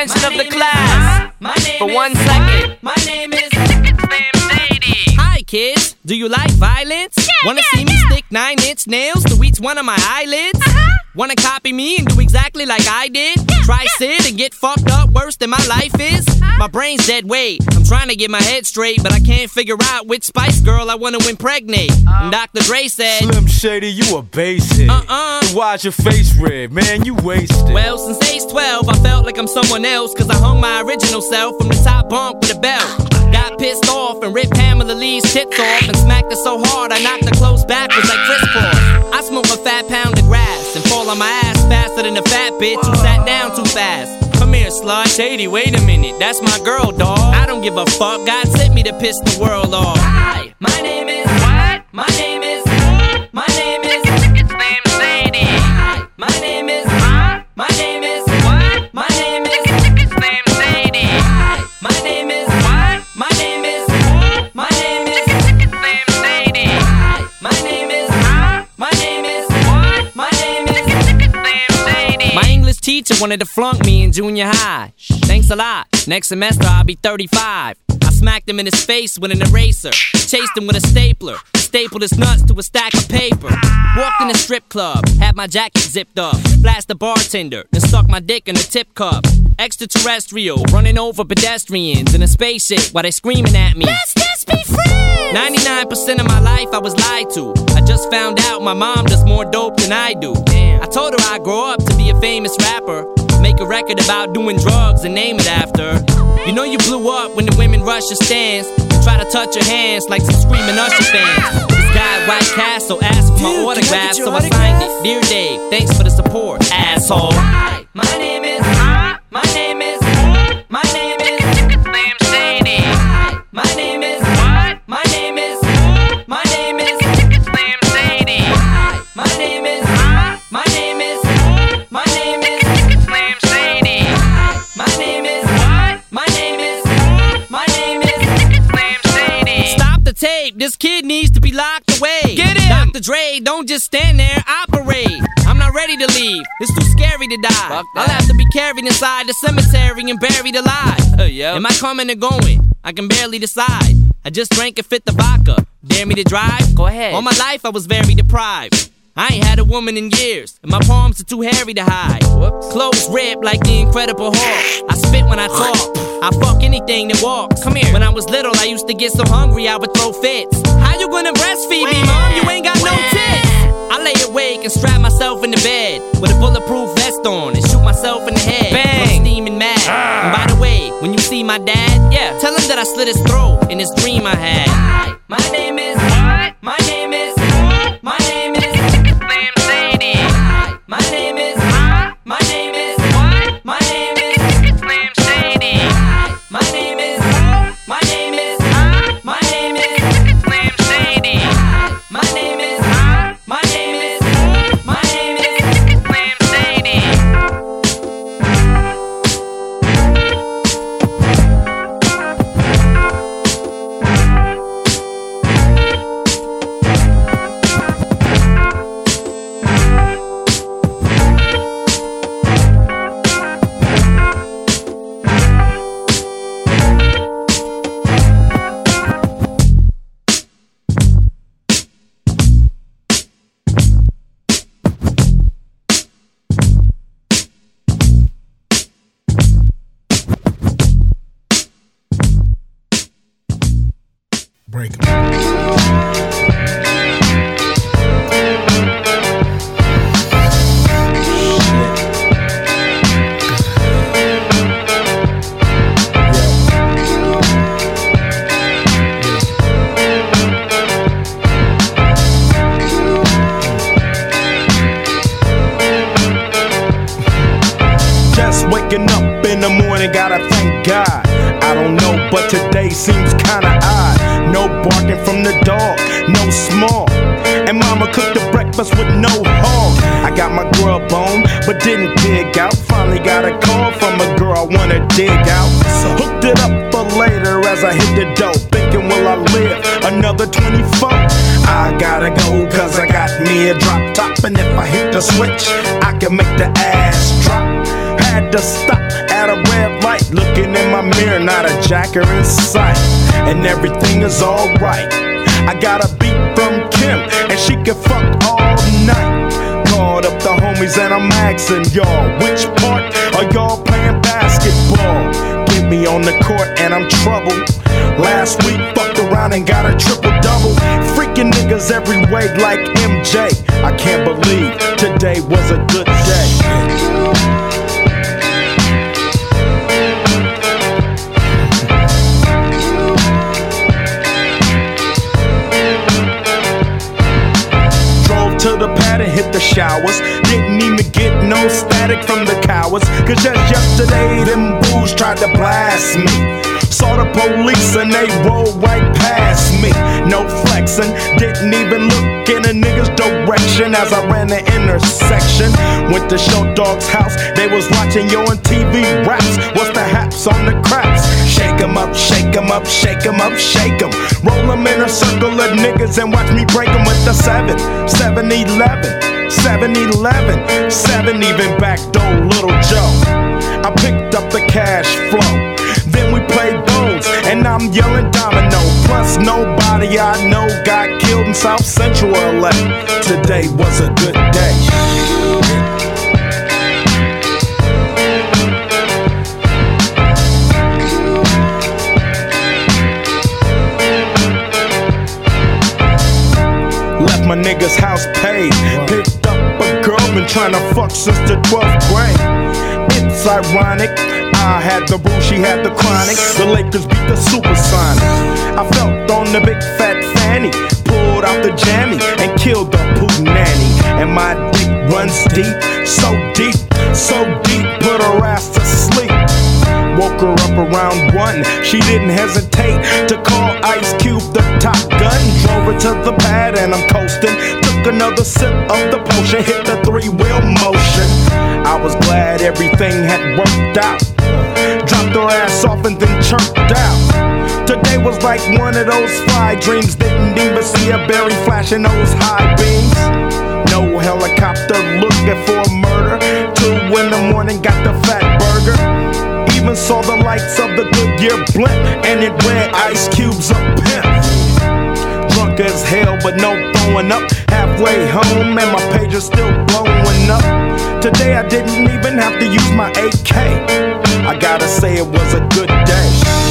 N: attention of the class for 1 second.
O: My name is Slim Shady.
N: Hi kids, do you like violence? Wanna see me stick 9-inch nails to each one of my eyelids? Wanna copy me and do exactly like I did? Try sit and get fucked up worse than my life is? My brain's dead weight. I'm trying to get my head straight, but I can't figure out which Spice Girl I wanna impregnate. And Dr. Dre said,
P: Slim Shady, you a basic. Then why's your face red? Man, you wasted.
N: Well, since age 12, I felt like I'm someone else, cause I hung my original self from the top bunk with a belt. Got pissed off and ripped Pamela Lee's tits off and smacked her so hard I knocked her clothes backwards like crisscross. I smoke a fat pound of grass and fall on my ass faster than a fat bitch who sat down too fast. Come here, slut. Shady, wait a minute, that's my girl, dawg. I don't give a fuck, God sent me to piss the world off.
O: Hi, my name is what? My name is Slim Shady. Hi, my name is my name is what? My name is Slim Shady. Hi, my name is what? My name is my name is Slim Shady. Hi, my name is my name is what? My name is Slim Shady.
N: My English teacher wanted to flunk me in junior high. Thanks a lot. Next semester I'll be 35. I smacked him in his face with an eraser. Chased him with a stapler. Stapled his nuts to a stack of paper. Walked in a strip club. Had my jacket zipped up. Flashed the bartender. Then stuck my dick in a tip cup. Extraterrestrial. Running over pedestrians in a spaceship while they screaming at me.
O: Let's just be friends.
N: 99% of my life I was lied to. I just found out my mom does more dope than I do. I told her I'd grow up to be a famous rapper. Make a record about doing drugs and name it after. You know you blew up when the women rush your stands and try to touch your hands like some screaming Usher fans. This guy at White Castle asked for my autograph, so I signed it. Dear Dave, thanks for the support, asshole.
O: Hi, my name is my name is my name is Slim Shady. Hi, my name is what? My name is my name is Slim Shady. Hi, my name is my name is my name is Slim Shady. Hi, my name is what? My name is my name is Slim Shady.
N: Stop the tape, this kid needs to be locked away.
O: Get him!
N: Dr. Dre, don't just stand there, operate. I'm not ready to leave, it's too scary to die. I'll have to be carried inside the cemetery and buried alive. Am I coming or going? I can barely decide. I just drank a fifth of vodka. Dare me to drive?
O: Go ahead.
N: All my life I was very deprived. I ain't had a woman in years, and my palms are too hairy to hide. Whoops. Clothes ripped like the Incredible Hulk. I spit when I talk. I fuck anything that walks. Come here. When I was little, I used to get so hungry I would throw fits. How you gonna breastfeed me, mom? You ain't got no tits. I lay awake and strap myself in the bed with a bulletproof vest on and shoot myself in the head.
O: Bang!
N: I'm steaming mad. And by the way, when you see my dad, tell him that I slit his throat in this dream I had.
O: Hi, my name is what? My name is my name is Slim Shady. Hi, my name is my name is what? My name is Slim Shady. Hi, my name is my name is my name is Slim Shady. Hi, my name is my name is my name is Slim Shady.
Q: Break 'em.
P: Just waking up in the morning, gotta thank God. I don't know, but today seems kinda odd. No barking from the dog, no small. And mama cooked the breakfast with no hog. I got my grub on, but didn't dig out. Finally got a call from a girl I wanna dig out. So hooked it up for later as I hit the dough. Thinking, will I live another 24? I gotta go, cause I got me a drop top. And if I hit the switch, I can make the ass drop. Had to stop at a red looking in my mirror, not a jacker in sight. And everything is alright. I got a beat from Kim, and she can fuck all night. Called up the homies and I'm asking y'all, which part are y'all playing basketball? Get me on the court and I'm troubled. Last week fucked around and got a triple-double. Freaking niggas every way like MJ. I can't believe today was a good day. To the pad and hit the showers. Didn't even get no static from the cowards. Cause just yesterday them fools tried to blast me. Saw the police and they rolled right past me. No flexing, didn't even look in a nigga's direction as I ran the intersection. Went to Short Dog's house, they was watching Yo on TV raps. What's the haps on the craps? Shake 'em up, shake 'em up, shake 'em up, shake 'em. Roll 'em in a circle of niggas and watch me break 'em with the 7-11, 7-11, 7 even backdoor Little Joe. I picked up the cash flow. Then we played bones, and I'm yelling domino. Plus nobody I know got killed in South Central LA. Today was a good day. Left my nigga's house paid. Picked up a girl, been trying to fuck since the 12th grade. It's ironic, I had the boo, she had the chronic. The Lakers beat the Supersonics. I felt on the big fat fanny, pulled out the jammy and killed the poo nanny. And my dick runs deep, so deep, so deep, put her ass to sleep. Woke her up around 1, she didn't hesitate to call Ice Cube the Top Gun. Drove her to the pad and I'm coasting. Took another sip of the potion, hit the 3-wheel motion. I was glad everything had worked out. Dropped her ass off and then chirped out. Today was like one of those fly dreams. Didn't even see a berry flashing those high beams. No helicopter looking for a murder. 2 in the morning, got the fat burger. Even saw the lights of the Goodyear blimp, and it read Ice Cube's a pimp. Drunk as hell, but no throwing up. Halfway home, and my pager's still blowing up. Today I didn't even have to use my AK. I gotta say it was a good day.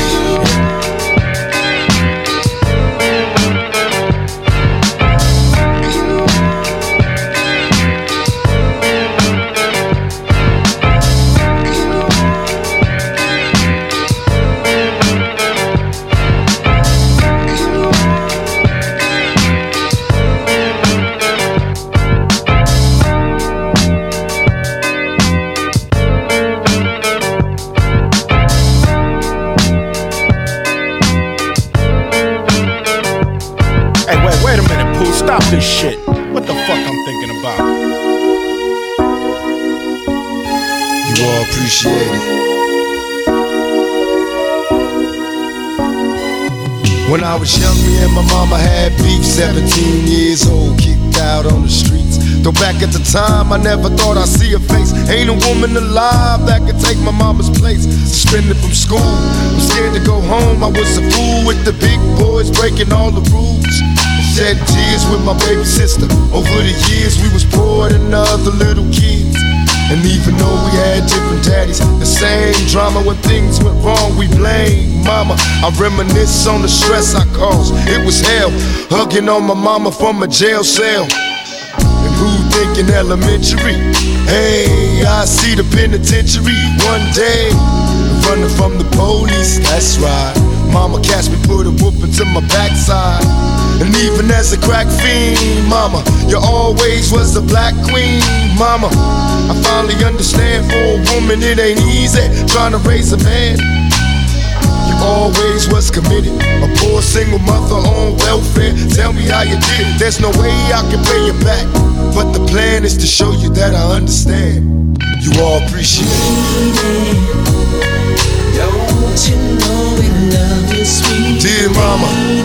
P: Stop this shit. What the fuck I'm thinking about?
R: You all appreciate it. When I was young, me and my mama had beef. 17 years old, kicked out on the streets. Though back at the time, I never thought I'd see her face. Ain't a woman alive that could take my mama's place. Suspended from school, I'm scared to go home. I was a fool with the big boys, breaking all the rules. Shed tears with my baby sister. Over the years we was poor than other little kids. And even though we had different daddies, the same drama when things went wrong, we blame mama. I reminisce on the stress I caused. It was hell, hugging on my mama from a jail cell. And who thinking elementary? Hey, I see the penitentiary one day. Running from the police, that's right. Mama catch me, put a whooping to my backside. And even as a crack fiend, mama, you always was the black queen, mama. I finally understand for a woman it ain't easy trying to raise a man. You always was committed, a poor single mother on welfare. Tell me how you did it, there's no way I can pay you back. But the plan is to show you that I understand. You all appreciate it.
S: Don't you know we love you, sweet
R: dear mama.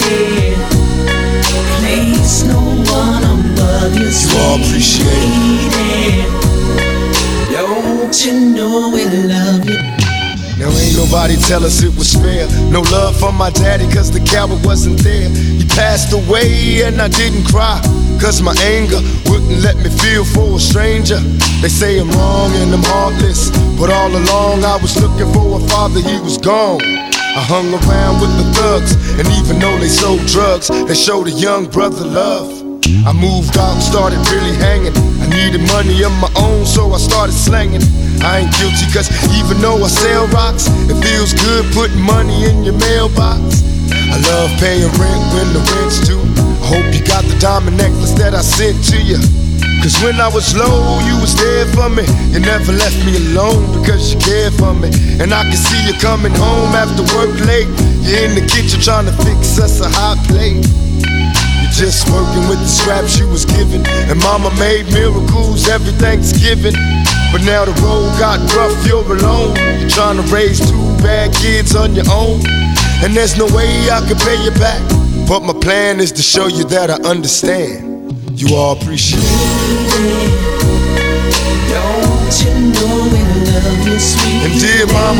S: Place no one above you, sweet.
R: You all appreciate it.
S: Don't you know we love you?
R: Now ain't Nobody tell us it was fair. No love from my daddy cause the coward wasn't there. He passed away and I didn't cry, cause my anger wouldn't let me feel for a stranger. They say I'm wrong and I'm heartless, but all along I was looking for a father, he was gone. I hung around with the thugs, and even though they sold drugs, they showed a young brother love. I moved out and started really hanging. I needed money of my own, so I started slanging. I ain't guilty cause even though I sell rocks, it feels good putting money in your mailbox. I love paying rent when the rent's due. I hope you got the diamond necklace that I sent to you, cause when I was low, you was there for me. You never left me alone because you cared for me. And I can see you coming home after work late. You're in the kitchen trying to fix us a hot plate. You're just working with the scraps you was given, and mama made miracles every Thanksgiving. But now the road got rough, you're alone. You're trying to raise 2 bad kids on your own, and there's no way I can pay you back. But my plan is to show you that I understand. You all appreciate it.
S: Don't you know we love you, sweet?
R: And dear mama,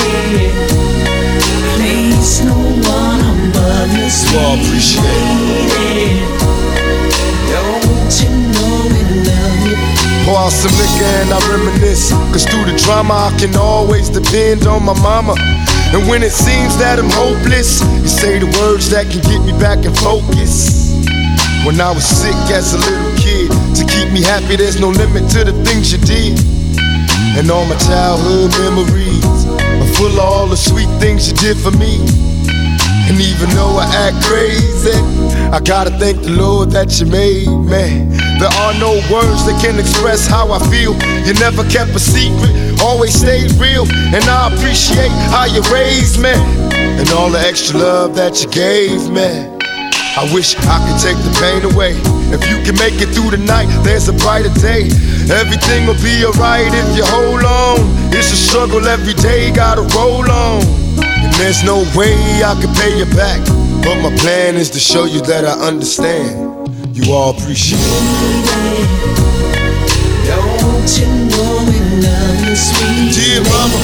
S: place no one above you, sweet.
R: You all appreciate
S: it. Don't you know we love you?
R: pour out some liquor and I reminisce, cause through the drama I can always depend on my mama. And when it seems that I'm hopeless, you say the words that can get me back in focus. When I was sick as a little kid, to keep me happy there's no limit to the things you did. And all my childhood memories are full of all the sweet things you did for me. And even though I act crazy, I gotta thank the Lord that you made me. There are no words that can express how I feel. You never kept a secret, always stayed real. And I appreciate how you raised me, and all the extra love that you gave me. I wish I could take the pain away. If you can make it through the night, there's a brighter day. Everything will be alright if you hold on. It's a struggle every day, gotta roll on. And there's no way I can pay you back, but my plan is to show you that I understand. You all appreciate it.
S: Don't you know we love you, sweet?
R: Dear mama,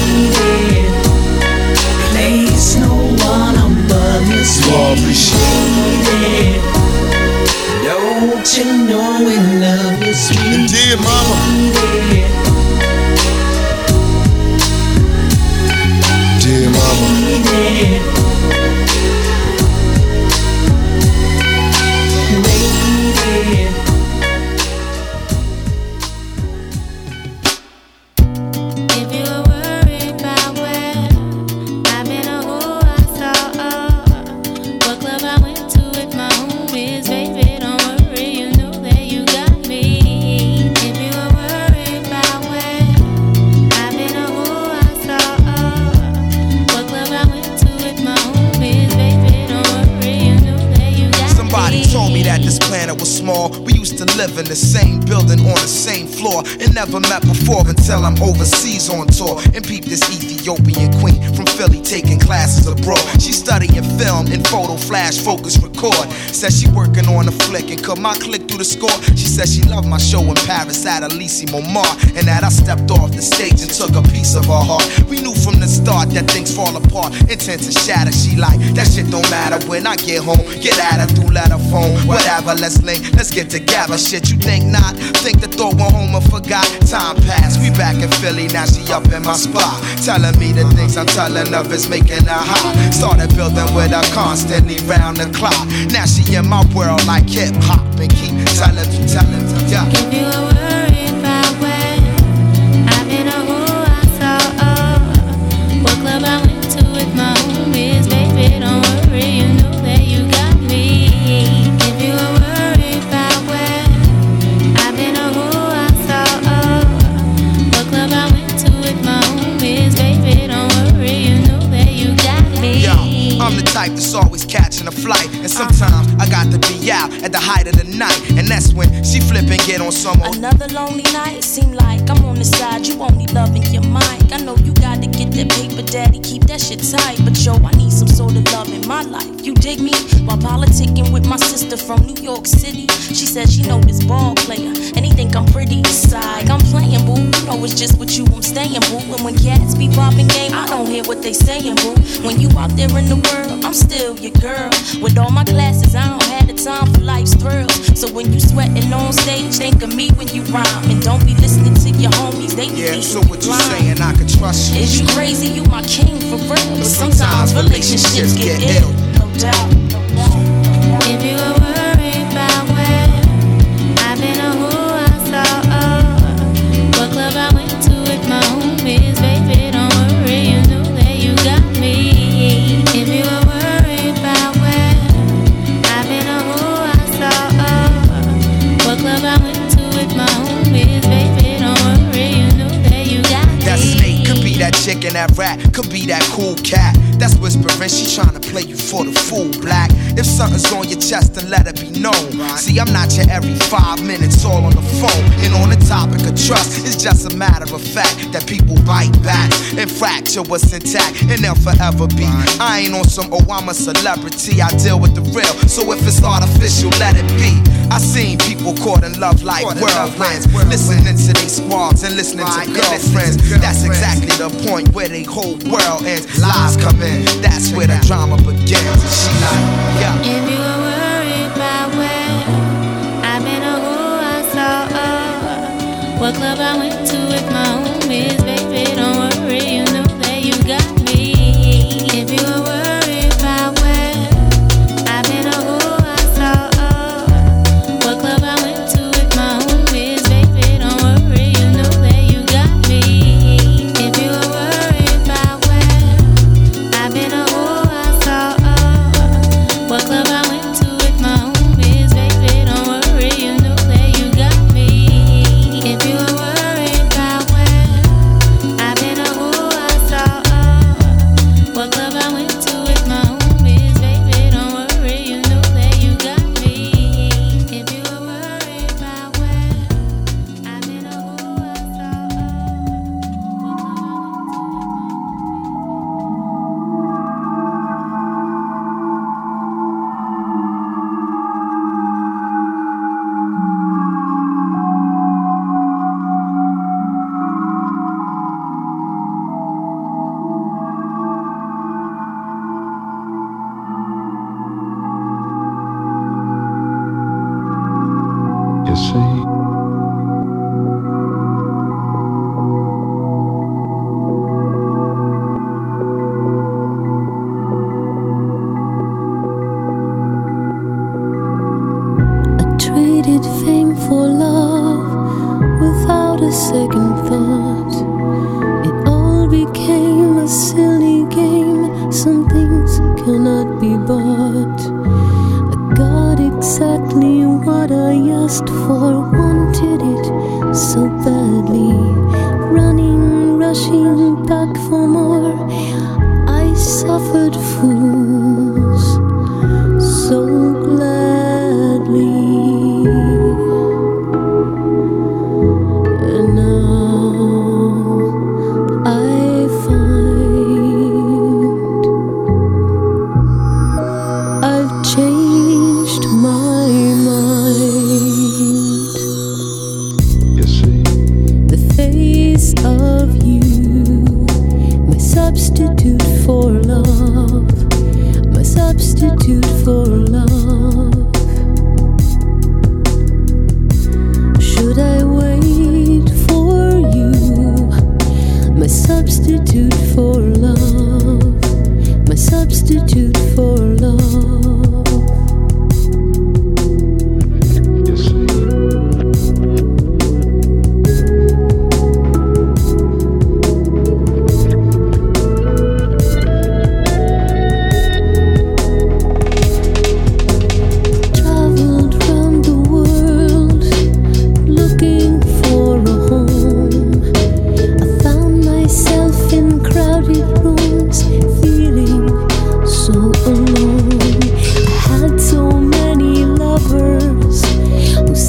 S: place no one above you, sweet.
R: You all appreciate
S: it. Don't you know we love you, sweet?
R: And dear mama, dear mama,
T: in the same building on the same floor, and never met before until I'm overseas on tour and peep this Ethiopian queen from Philly taking classes abroad. She studying film and photo flash focus record. Says she working on a flick and cut my click through the score. She says she loved my show in Paris at Elysee Montmartre, and that I stepped off the stage and took a piece of her heart. We knew from the start that things fall apart, intent to shatter. She like, that shit don't matter when I get home. Get at her through letter phone, whatever, let's link, let's get together. Shit, you think not? Think the thought went home and forgot. Time passed, we back in Philly, now she up in my spot, telling me the things I'm telling of is making her hot. Started building with her constantly round the clock. Now she in my world like hip hop and keep telling me, yeah.
U: If you were worried about where I've been or who I saw, what club I went to with my homies, baby, don't worry, you know that you got me. If you were worried about where I've been or who I saw, what club I went to with my homies, baby, don't worry, you know that you got me.
T: Yo, I'm the type that's always catching a flight, and sometimes I got to be out at at the height of the night, and that's when she flip and get on some old.
A: Another lonely night, seem like I'm on the side. You only loving your mind. I know you gotta get that paper, daddy, keep that shit tight. But yo, I need some sort of love in my life. You dig me? While politicking with my sister from New York City, she said she know this ball player, and he think I'm pretty. Side, I'm playing, boo. You know it's just with you I'm staying, boo. And when cats be popping game, I don't hear what they saying, boo. When you out there in the world, I'm still your girl. With all my classes, I don't have the time for life's thrills. So when you sweating on stage, think of me when you rhyme. And don't be listening to your homies, they be
T: yeah, so what you saying, I can trust you.
A: Is you crazy? You my king for real. But sometimes relationships get ill. No doubt.
U: If you were worried about where I've been or who I saw, what club I went to with my homies, baby, don't worry, you know that you got me. If you were worried about where I've been or who I saw, what club I went to with my homies, baby, don't worry, you know that you got me.
T: That snake could be that chick and that rat, could be that cool cat. That's whispering, she tryna play you for the fool, black. If something's on your chest, then let it be known. See, I'm not your every 5 minutes all on the phone. And on the topic of trust, it's just a matter of fact that people bite back and fracture what's intact, and they'll forever be. I ain't on some, oh, I'm a celebrity, I deal with the real. So if it's artificial, let it be. I seen people caught in love like whirlwinds, listening to they squads and listening to girlfriends. That's exactly the point where they whole world ends. Lies come in, that's where the drama begins. And she like, yeah.
U: If you were worried about where I've been or who I saw, what club I went to with my homies, baby, don't worry, you know that you got me. If you were worried about where I've been or who I saw, what club I went to with my homies, baby, don't worry, you know that you got me. If you were worried about where I've been or who I saw, what club I went to with my homies, baby, don't worry, you know that you got me. If you were worried about where I've been or who I saw, what club I went to with my homies, baby, don't worry, you know that you got me. If you were worried about where I've been or who I
V: You see,
W: I traded fame for love without a second thought. It all became a silly game. Some things cannot be bought. I got exactly what I asked for, wanted it so badly. Running, rushing back for more. I suffered fools so gladly. And now I find I've changed my mind.
V: you see,
W: The face of you, my substitute for love,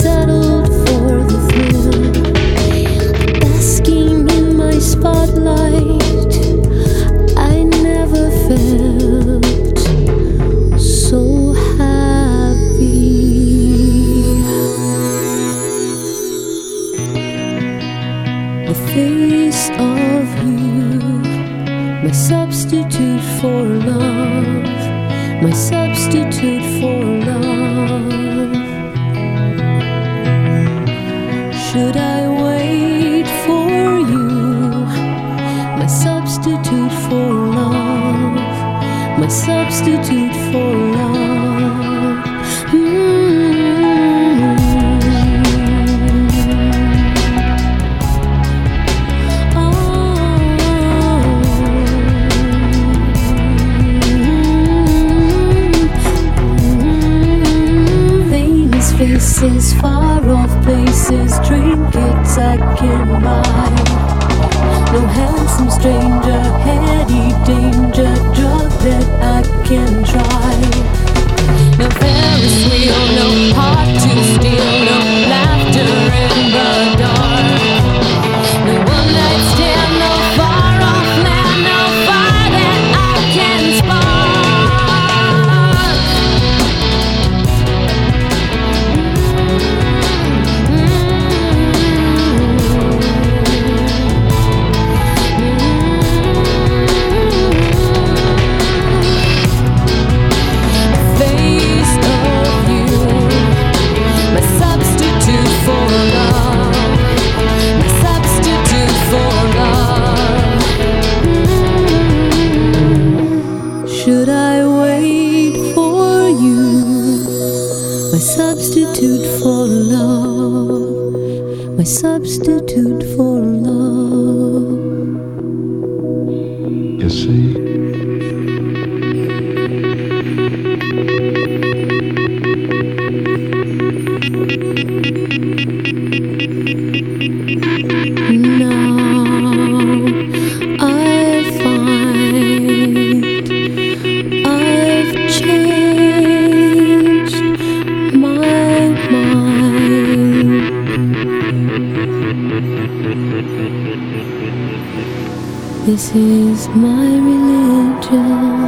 W: settled for the thrill, basking in my spotlight. I never felt so happy. The face of you, my substitute for love, my substitute for love. Should I wait for you, my substitute for love, my substitute for love? Faces, far off places, trinkets I can buy. No handsome stranger, heady danger, drug that I can try. No Ferris wheel, no heart to steal, no laughter in the dark. No one night stand, no far off land, no fire that I can spark. Should I wait for you, my substitute for love, my substitute for love?
V: You see?
W: This is my religion.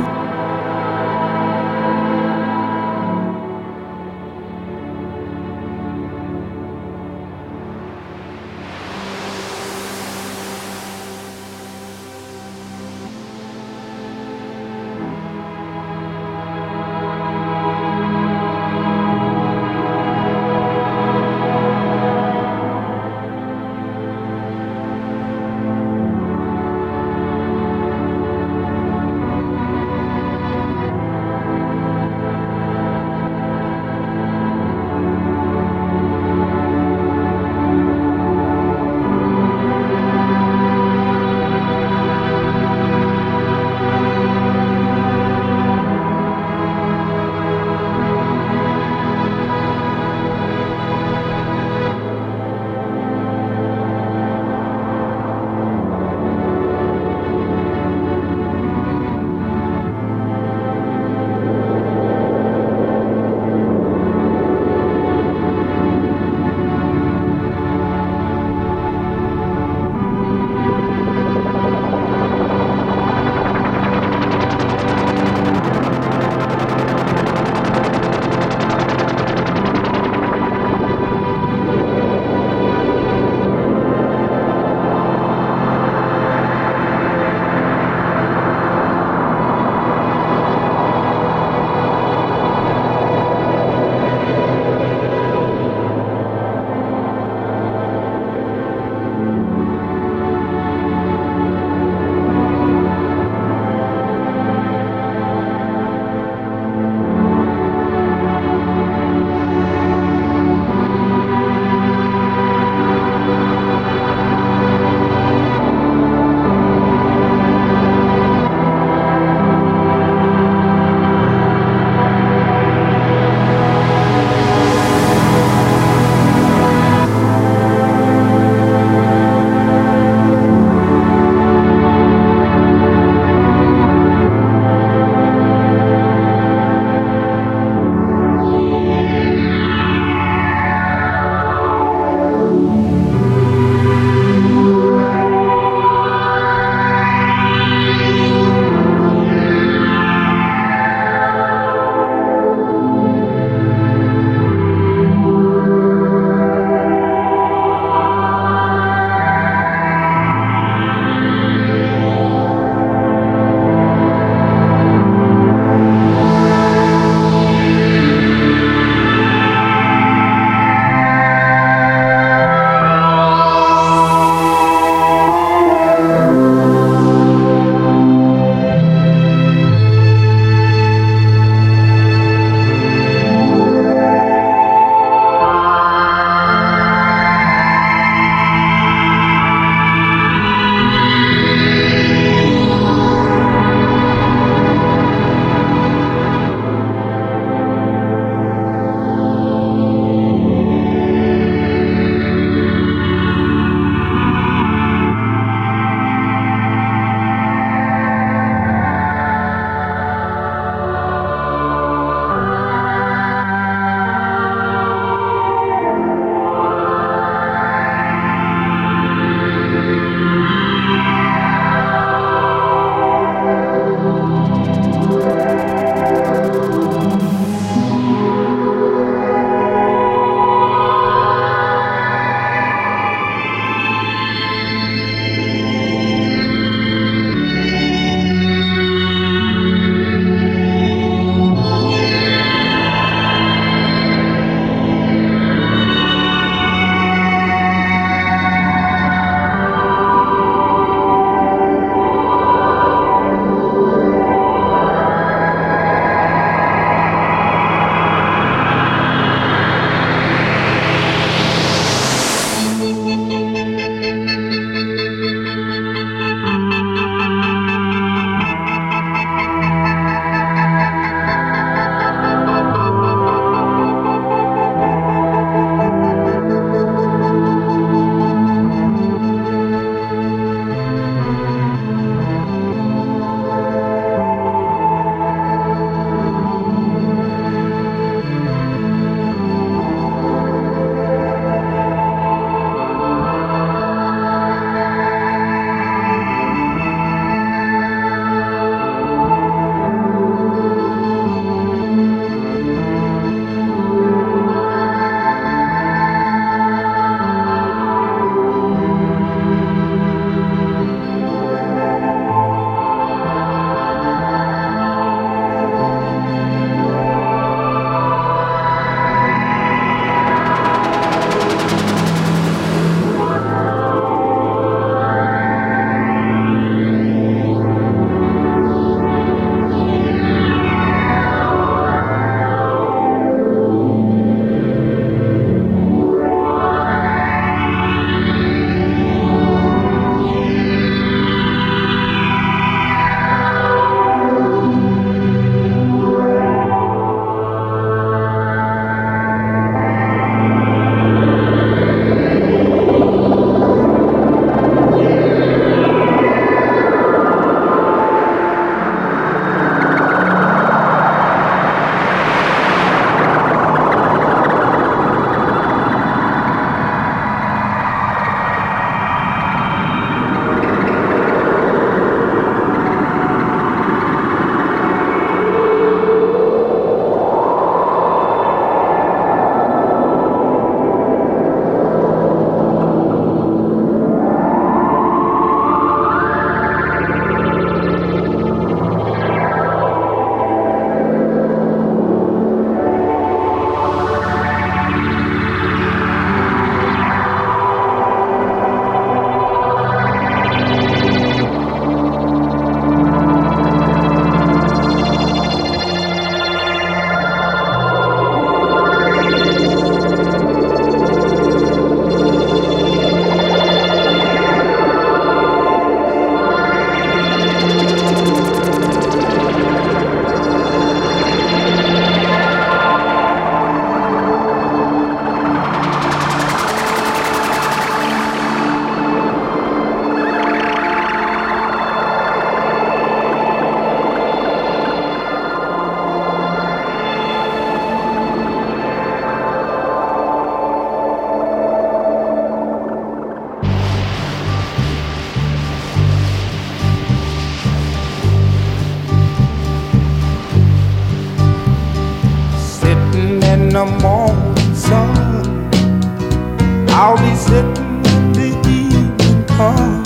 K: I'll be sitting when the evening comes,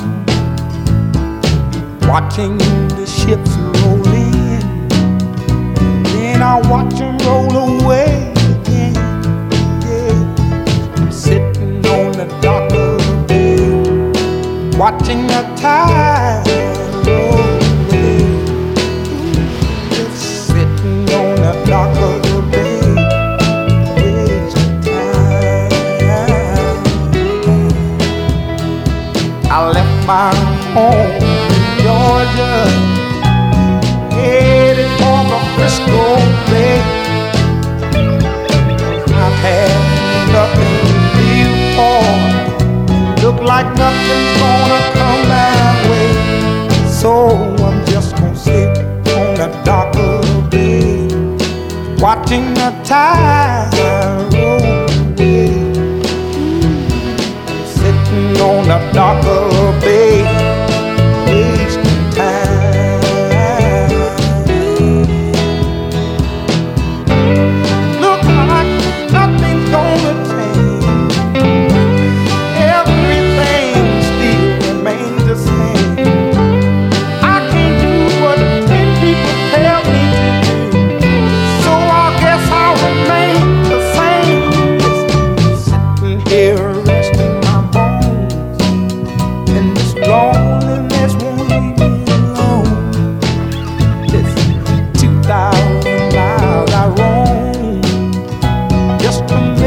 K: watching the ships roll in, then I'll watch them roll away again. Yeah. I'm sitting on the dock of the bay, watching the tide roll away. Just sitting on the dock of the bay, wasting time. I left my home in Georgia, headed for the Frisco Bay. I've had nothing to live for, look like nothing's gonna come my way. So I'm just gonna sit on the dock of the bay, watching the tide roll away. Sitting on the dock of the bay, wasting time. Look like nothing's gonna change, everything still remains the same. I can't do what 10 people tell me to do, so I guess I'll remain the same. Sitting here resting my bones, and this loneliness won't leave me alone. This 2,000 miles I roam just to make